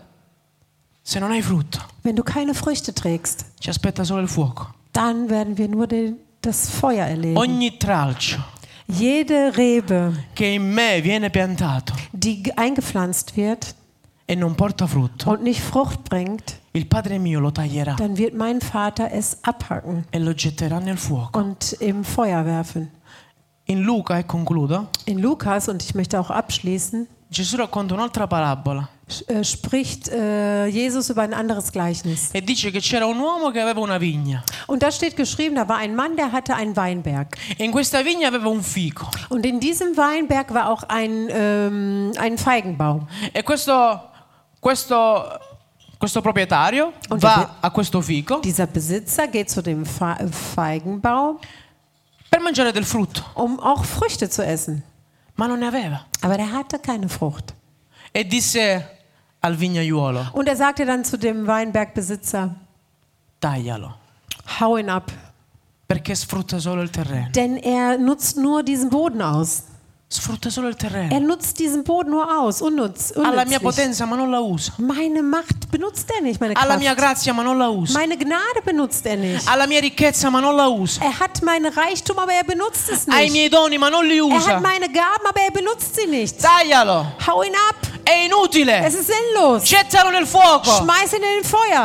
Speaker 1: Se non hai frutto,
Speaker 2: Wenn du keine Früchte trägst,
Speaker 1: ci aspetta solo il fuoco.
Speaker 2: dann werden wir nur den, das Feuer erleben.
Speaker 1: Ogni tralcio
Speaker 2: Jede Rebe,
Speaker 1: che in me viene piantato
Speaker 2: die eingepflanzt wird
Speaker 1: e non porta frutto,
Speaker 2: und nicht Frucht bringt,
Speaker 1: il Padre mio lo taglierà
Speaker 2: dann wird mein Vater es abhacken
Speaker 1: e lo getterà nel fuoco.
Speaker 2: und im Feuer werfen.
Speaker 1: In Luca, e concludo,
Speaker 2: In Lukas, und ich möchte auch abschließen,
Speaker 1: Gesù racconta un'altra parabola
Speaker 2: sch- äh, spricht äh, Jesus über ein anderes Gleichnis.
Speaker 1: e dice che c'era un uomo che aveva una vigna
Speaker 2: Und da steht geschrieben, da war ein Mann, der hatte einen Weinberg.
Speaker 1: e in questa vigna aveva un fico
Speaker 2: Und in diesem Weinberg war auch ein, ähm, ein Feigenbaum.
Speaker 1: e questo, questo, questo proprietario
Speaker 2: Und
Speaker 1: va
Speaker 2: der-
Speaker 1: a questo fico
Speaker 2: Dieser Besitzer geht zu dem Fe- Feigenbaum,
Speaker 1: per mangiare del frutto,
Speaker 2: um auch Früchte zu essen.
Speaker 1: ma non ne aveva.
Speaker 2: Aber der hatte keine Frucht.
Speaker 1: E disse al vignaiuolo:
Speaker 2: Und er sagte dann zu dem Weinbergbesitzer,
Speaker 1: taglialo,
Speaker 2: hau ihn ab,
Speaker 1: perché sfrutta solo il terreno.
Speaker 2: denn er nutzt nur diesen Boden aus.
Speaker 1: Sfrutta solo il
Speaker 2: Er
Speaker 1: terreno.
Speaker 2: nutzt diesen Boden nur aus, unnutz,
Speaker 1: Ha la mia
Speaker 2: unnützlich.
Speaker 1: potenza ma non la usa.
Speaker 2: Meine Macht benutzt er nicht, meine
Speaker 1: Ha la mia
Speaker 2: Kraft.
Speaker 1: grazia ma non la usa.
Speaker 2: Meine Gnade benutzt er nicht.
Speaker 1: Ha la mia ricchezza ma non la usa.
Speaker 2: Er hat mein Reichtum, aber er benutzt es
Speaker 1: Ha i
Speaker 2: nicht.
Speaker 1: miei doni ma non li
Speaker 2: Er
Speaker 1: usa.
Speaker 2: hat meine Gaben, aber er benutzt sie nicht.
Speaker 1: Taglialo.
Speaker 2: Hau ihn ab.
Speaker 1: È
Speaker 2: Es
Speaker 1: inutile.
Speaker 2: ist sinnlos.
Speaker 1: Gettalo nel fuoco.
Speaker 2: Schmeiß ihn in den Feuer.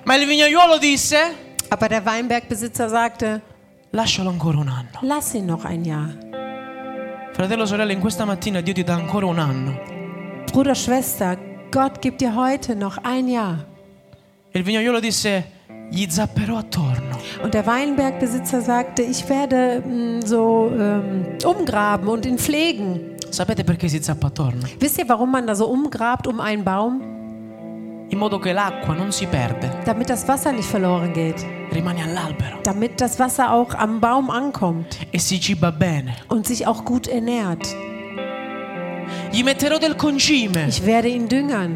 Speaker 1: Ma il vignaiuolo disse:
Speaker 2: Aber der Weinbergbesitzer sagte,
Speaker 1: lascialo ancora un anno.
Speaker 2: lass ihn noch ein Jahr.
Speaker 1: Fratello, sorella, in questa mattina Dio ti dà ancora un anno.
Speaker 2: Bruder, Schwester, Gott gibt dir heute noch ein Jahr.
Speaker 1: E il vignaiuolo disse: gli zapperò attorno.
Speaker 2: Und der Weinbergbesitzer sagte, ich werde mh, so ähm, umgraben und ihn pflegen.
Speaker 1: Sapete perché si zappa attorno?
Speaker 2: Wisst ihr, warum man da so umgrabt um einen Baum?
Speaker 1: In modo che l'acqua non si perde,
Speaker 2: Damit das Wasser nicht verloren geht.
Speaker 1: rimane all'albero
Speaker 2: Damit das Wasser auch am Baum ankommt
Speaker 1: e si ciba bene.
Speaker 2: und sich auch gut ernährt.
Speaker 1: Gli metterò del concime,
Speaker 2: Ich werde ihn düngern.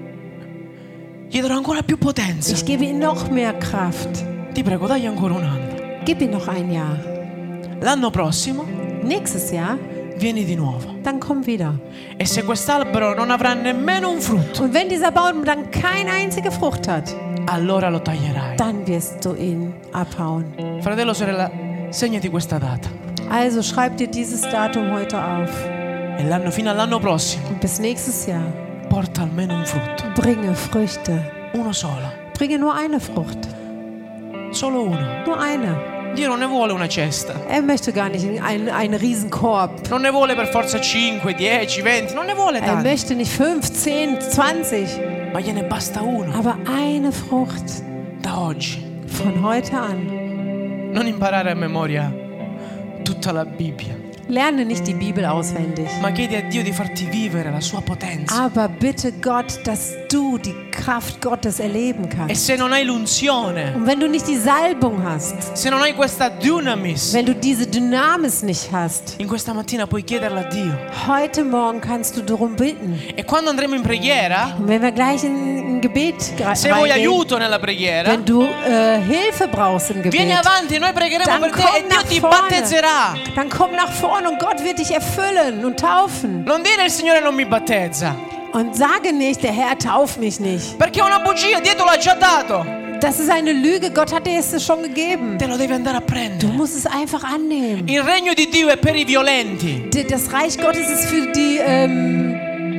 Speaker 1: gli darò ancora più potenza.
Speaker 2: Ich gebe ihm noch mehr Kraft.
Speaker 1: Ti prego, dagli ancora un anno.
Speaker 2: Gib ihm noch ein Jahr.
Speaker 1: L'anno prossimo
Speaker 2: Nächstes Jahr,
Speaker 1: vieni di nuovo.
Speaker 2: dann komm wieder.
Speaker 1: E se quest'albero non avrà nemmeno un frutto,
Speaker 2: Und wenn dieser Baum dann keine einzige Frucht hat,
Speaker 1: allora lo taglierai.
Speaker 2: dann wirst du ihn abhauen.
Speaker 1: Fratello, sorella, segnati questa data.
Speaker 2: Also schreib dir dieses Datum heute auf.
Speaker 1: E l'anno, fino all'anno prossimo,
Speaker 2: Und bis nächstes Jahr
Speaker 1: porta almeno un frutto.
Speaker 2: bringe Früchte.
Speaker 1: Uno solo.
Speaker 2: Bringe nur eine Frucht.
Speaker 1: Solo uno.
Speaker 2: Nur eine.
Speaker 1: Dio non ne vuole una cesta.
Speaker 2: Er möchte gar nicht einen, einen Riesenkorb.
Speaker 1: Non ne vuole per forza cinque, dieci, venti. Non ne vuole
Speaker 2: Er
Speaker 1: tanti.
Speaker 2: möchte nicht fünf, zehn, zwanzig,
Speaker 1: Ma gliene basta uno.
Speaker 2: aber eine Frucht
Speaker 1: Da oggi.
Speaker 2: von heute an.
Speaker 1: Non imparare a memoria tutta la Bibbia.
Speaker 2: Lerne nicht die Bibel auswendig,
Speaker 1: Ma chiedi a Dio di farti vivere la sua potenza.
Speaker 2: aber bitte Gott, dass du die Kraft Gottes erleben
Speaker 1: E
Speaker 2: kannst.
Speaker 1: se non hai l'unzione,
Speaker 2: Und wenn du nicht die Salbung hast,
Speaker 1: se non hai questa dunamis,
Speaker 2: wenn du diese Dynamis nicht hast,
Speaker 1: in questa mattina puoi chiederla a Dio.
Speaker 2: heute Morgen kannst du darum bitten.
Speaker 1: E quando andremo in preghiera,
Speaker 2: Und wenn wir gleich in ein Gebet gra-
Speaker 1: se vuoi
Speaker 2: reingehen,
Speaker 1: aiuto nella preghiera,
Speaker 2: wenn du äh, Hilfe brauchst im
Speaker 1: vieni
Speaker 2: Gebet,
Speaker 1: avanti, noi pregheremo
Speaker 2: dann
Speaker 1: per te
Speaker 2: komm
Speaker 1: e Dio
Speaker 2: nach
Speaker 1: ti
Speaker 2: vorne.
Speaker 1: battezzerà.
Speaker 2: Dann komm nach vorne und Gott wird dich erfüllen und taufen.
Speaker 1: Non dire il Signore non mi battezza,
Speaker 2: Und sage nicht, der Herr tauft mich nicht.
Speaker 1: perché è una bugia, Dio te l'ha già dato.
Speaker 2: Das ist eine Lüge, Gott hat dir es schon gegeben.
Speaker 1: Te lo devi andare a
Speaker 2: Du
Speaker 1: prendere.
Speaker 2: musst es einfach annehmen.
Speaker 1: Il regno di Dio è per i violenti,
Speaker 2: D- Das Reich Gottes ist für die ähm,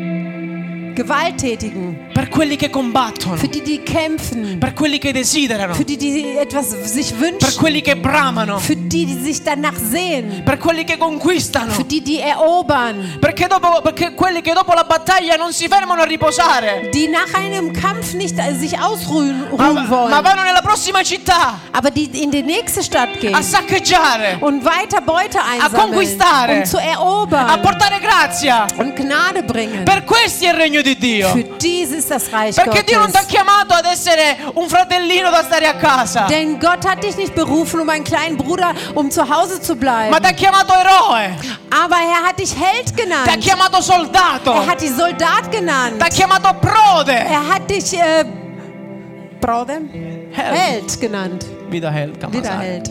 Speaker 2: Gewalttätigen,
Speaker 1: per quelli che combattono,
Speaker 2: für die, die kämpfen,
Speaker 1: per quelli che desiderano,
Speaker 2: für die, die etwas sich
Speaker 1: per
Speaker 2: wünschen,
Speaker 1: quelli che bramano,
Speaker 2: für die, die sich danach sehen,
Speaker 1: per quelli che conquistano,
Speaker 2: für die, die erobern,
Speaker 1: perché, dopo, perché quelli che dopo la battaglia non si fermano a riposare,
Speaker 2: die nach einem Kampf nicht äh, sich ausruhen
Speaker 1: ma,
Speaker 2: ruhen wollen,
Speaker 1: ma vanno nella prossima città
Speaker 2: aber die in die nächste Stadt gehen
Speaker 1: a saccheggiare,
Speaker 2: und weiter Beute
Speaker 1: conquistare,
Speaker 2: einsammeln, um zu
Speaker 1: a
Speaker 2: erobern
Speaker 1: portare grazia.
Speaker 2: und Gnade bringen.
Speaker 1: Per questi è il regno di Dio.
Speaker 2: Für dies ist das Reich
Speaker 1: Perché Dio non ti ha
Speaker 2: Gottes.
Speaker 1: chiamato ad essere un fratellino da stare a casa,
Speaker 2: Denn Gott hat dich nicht berufen, um einen kleinen Bruder, um zu Hause zu bleiben.
Speaker 1: ma ti ha chiamato eroe,
Speaker 2: Aber er hat dich Held
Speaker 1: ti ha
Speaker 2: genannt.
Speaker 1: chiamato soldato,
Speaker 2: Er hat dich Soldat genannt.
Speaker 1: ti ha chiamato prode.
Speaker 2: Er hat dich äh, Bruder?
Speaker 1: Held.
Speaker 2: Held genannt.
Speaker 1: Vida Held,
Speaker 2: Wieder
Speaker 1: Kamasai.
Speaker 2: Held.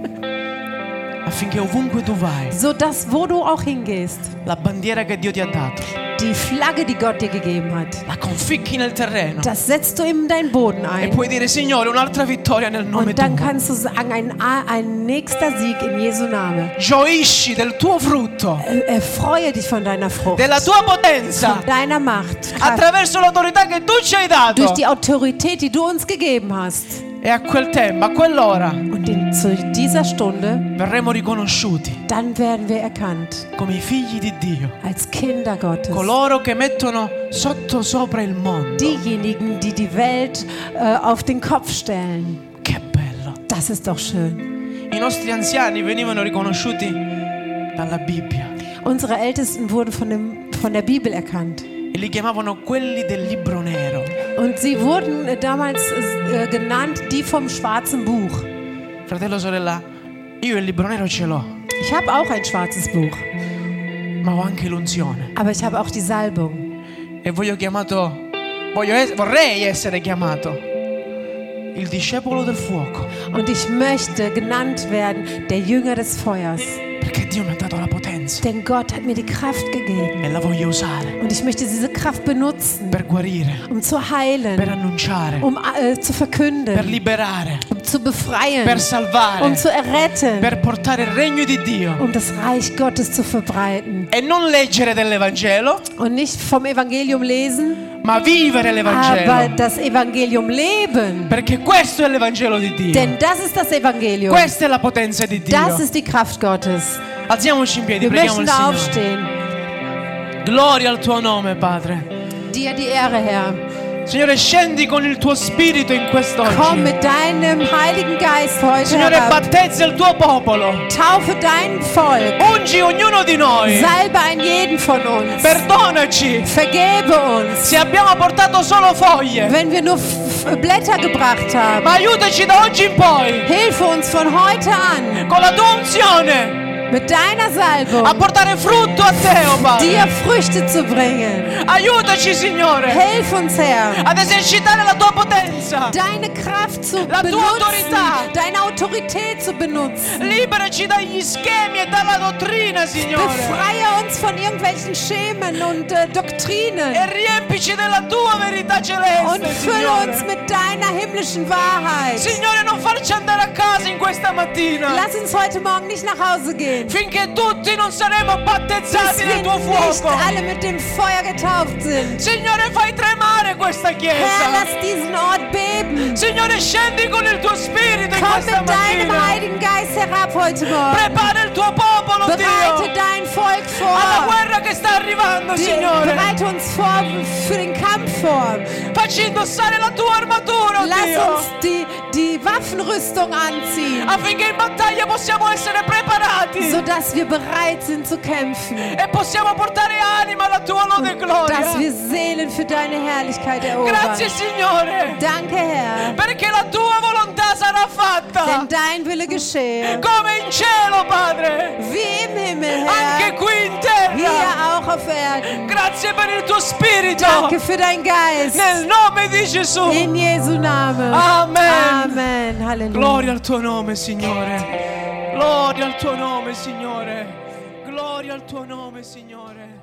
Speaker 1: Affinché ovunque tu vai,
Speaker 2: So dass, wo du auch hingehst,
Speaker 1: la bandiera che Dio ti ha dato,
Speaker 2: die Flagge, die Gott dir gegeben hat,
Speaker 1: la conficchi nel terreno
Speaker 2: das setzt du in deinen Boden
Speaker 1: e
Speaker 2: ein.
Speaker 1: puoi dire: Signore, un'altra vittoria nel nome
Speaker 2: Und dann
Speaker 1: tuo.
Speaker 2: kannst du sagen, ein, ein nächster Sieg in Jesu Name.
Speaker 1: Gioisci del tuo frutto,
Speaker 2: Äh, Erfreue dich von deiner Frucht,
Speaker 1: della tua potenza,
Speaker 2: von deiner Macht, Kraft,
Speaker 1: attraverso l'autorità che tu ci hai dato.
Speaker 2: durch die Autorität, die du uns gegeben hast.
Speaker 1: E a quel tempo, a quell'ora,
Speaker 2: Und in, zu dieser Stunde,
Speaker 1: verremo riconosciuti
Speaker 2: dann werden wir erkannt
Speaker 1: come i figli di Dio,
Speaker 2: als Kinder Gottes.
Speaker 1: coloro che mettono sotto sopra il mondo.
Speaker 2: Diejenigen, die die Welt äh, auf den Kopf stellen.
Speaker 1: Che bello!
Speaker 2: Das ist doch schön.
Speaker 1: I nostri anziani venivano riconosciuti dalla Bibbia
Speaker 2: Unsere Ältesten wurden von, dem, von der Bibel erkannt.
Speaker 1: e li chiamavano quelli del libro nero.
Speaker 2: Und sie wurden äh, damals äh, genannt, die vom schwarzen Buch.
Speaker 1: Fratello, sorella, io il libro nero ce l'ho,
Speaker 2: Ich habe auch ein schwarzes Buch,
Speaker 1: ma ho anche l'unzione
Speaker 2: aber ich habe auch die Salbung.
Speaker 1: e voglio chiamato, voglio es- vorrei essere chiamato il discepolo del fuoco,
Speaker 2: Und ich möchte genannt werden, der Jünger des Feuers.
Speaker 1: perché Dio mi ha dato la potenza
Speaker 2: Denn Gott hat mir die Kraft gegeben.
Speaker 1: e la voglio usare
Speaker 2: Und ich möchte diese Kraft benutzen,
Speaker 1: per guarire,
Speaker 2: um zu
Speaker 1: per
Speaker 2: heilen,
Speaker 1: annunciare,
Speaker 2: um äh, zu
Speaker 1: per
Speaker 2: verkünden,
Speaker 1: liberare,
Speaker 2: um zu befreien,
Speaker 1: per salvare,
Speaker 2: um zu erretten,
Speaker 1: per portare il regno di Dio
Speaker 2: um das Reich Gottes zu verbreiten.
Speaker 1: e non leggere dell'Evangelo,
Speaker 2: Und nicht vom Evangelium lesen,
Speaker 1: ma vivere l'Evangelo.
Speaker 2: aber das Evangelium leben.
Speaker 1: Perché questo è l'Evangelo di Dio.
Speaker 2: Denn das ist das Evangelium.
Speaker 1: Questa è la potenza di Dio.
Speaker 2: Das ist die Kraft Gottes.
Speaker 1: Alziamoci in piedi,
Speaker 2: Wir
Speaker 1: preghiamo
Speaker 2: möchten
Speaker 1: il
Speaker 2: da
Speaker 1: Signore.
Speaker 2: aufstehen.
Speaker 1: Gloria al tuo nome, Padre.
Speaker 2: Dir die Ehre, Herr.
Speaker 1: Signore, scendi con il tuo spirito in
Speaker 2: Komm
Speaker 1: quest'oggi.
Speaker 2: mit deinem Heiligen Geist heute
Speaker 1: Signore,
Speaker 2: herab.
Speaker 1: battezza il tuo popolo.
Speaker 2: Taufe dein Volk.
Speaker 1: Ungi ognuno di noi.
Speaker 2: Salbe einen jeden von uns.
Speaker 1: Perdonaci
Speaker 2: Vergebe uns,
Speaker 1: se abbiamo portato solo foglie.
Speaker 2: wenn wir nur F- Blätter gebracht haben.
Speaker 1: Ma aiutaci da oggi in poi,
Speaker 2: Hilfe uns von heute an
Speaker 1: con la tua unzione,
Speaker 2: mit deiner
Speaker 1: a
Speaker 2: Salbung
Speaker 1: portare frutto a te, oh Padre.
Speaker 2: dir Früchte zu bringen.
Speaker 1: Aiutaci, Signore,
Speaker 2: Hilf uns, Herr,
Speaker 1: ad esercitare la tua potenza.
Speaker 2: deine Kraft zu
Speaker 1: La tua
Speaker 2: benutzen,
Speaker 1: autorità.
Speaker 2: deine Autorität zu benutzen.
Speaker 1: Liberaci dagli schemi e dalla dottrina, Signore.
Speaker 2: Befreie uns von irgendwelchen Schemen und äh, Doktrinen
Speaker 1: E riempici della tua verità celeste,
Speaker 2: und fülle uns
Speaker 1: Signore.
Speaker 2: mit deiner himmlischen Wahrheit.
Speaker 1: Signore, non farci andare a casa in questa mattina
Speaker 2: Lass uns heute Morgen nicht nach Hause gehen,
Speaker 1: finché tutti non saremo
Speaker 2: bis
Speaker 1: battezzati
Speaker 2: wir
Speaker 1: nel tuo
Speaker 2: nicht
Speaker 1: fuoco.
Speaker 2: alle mit dem Feuer getauft sind.
Speaker 1: Signore, fai tremare questa
Speaker 2: Herr,
Speaker 1: chiesa.
Speaker 2: lass diesen Ort beben.
Speaker 1: Signore, scendi con il tuo spirito in
Speaker 2: Komm
Speaker 1: questa
Speaker 2: mit deinem
Speaker 1: mattina.
Speaker 2: Heiligen Geist herab heute Morgen.
Speaker 1: Prepara il tuo popolo,
Speaker 2: Bereite
Speaker 1: Dio,
Speaker 2: dein Volk
Speaker 1: alla
Speaker 2: vor.
Speaker 1: guerra che sta arrivando,
Speaker 2: Die,
Speaker 1: Signore.
Speaker 2: bereite uns vor für den Kampf vor.
Speaker 1: Facci indossare la tua armatura, oh
Speaker 2: Lass
Speaker 1: Dio,
Speaker 2: uns die, die Waffenrüstung anziehen,
Speaker 1: affinché in battaglia possiamo essere preparati
Speaker 2: sodass wir bereit sind zu kämpfen.
Speaker 1: e possiamo portare anima alla tua lode e gloria.
Speaker 2: Dass wir Seelen für deine Herrlichkeit erobern.
Speaker 1: Grazie, Signore,
Speaker 2: Danke, Herr.
Speaker 1: perché la tua volontà sarà fatta
Speaker 2: Denn dein Wille geschehe.
Speaker 1: come in cielo, Padre,
Speaker 2: Wie im Himmel,
Speaker 1: anche
Speaker 2: Herr.
Speaker 1: qui in
Speaker 2: Hier
Speaker 1: terra.
Speaker 2: auch auf Erden.
Speaker 1: Grazie per il tuo spirito,
Speaker 2: Danke für dein Geist.
Speaker 1: nel nome di Gesù.
Speaker 2: In Jesu Namen.
Speaker 1: Amen.
Speaker 2: Amen. Halleluja.
Speaker 1: Gloria al tuo nome, Signore. Gloria al tuo nome, Signore. Gloria al tuo nome, Signore.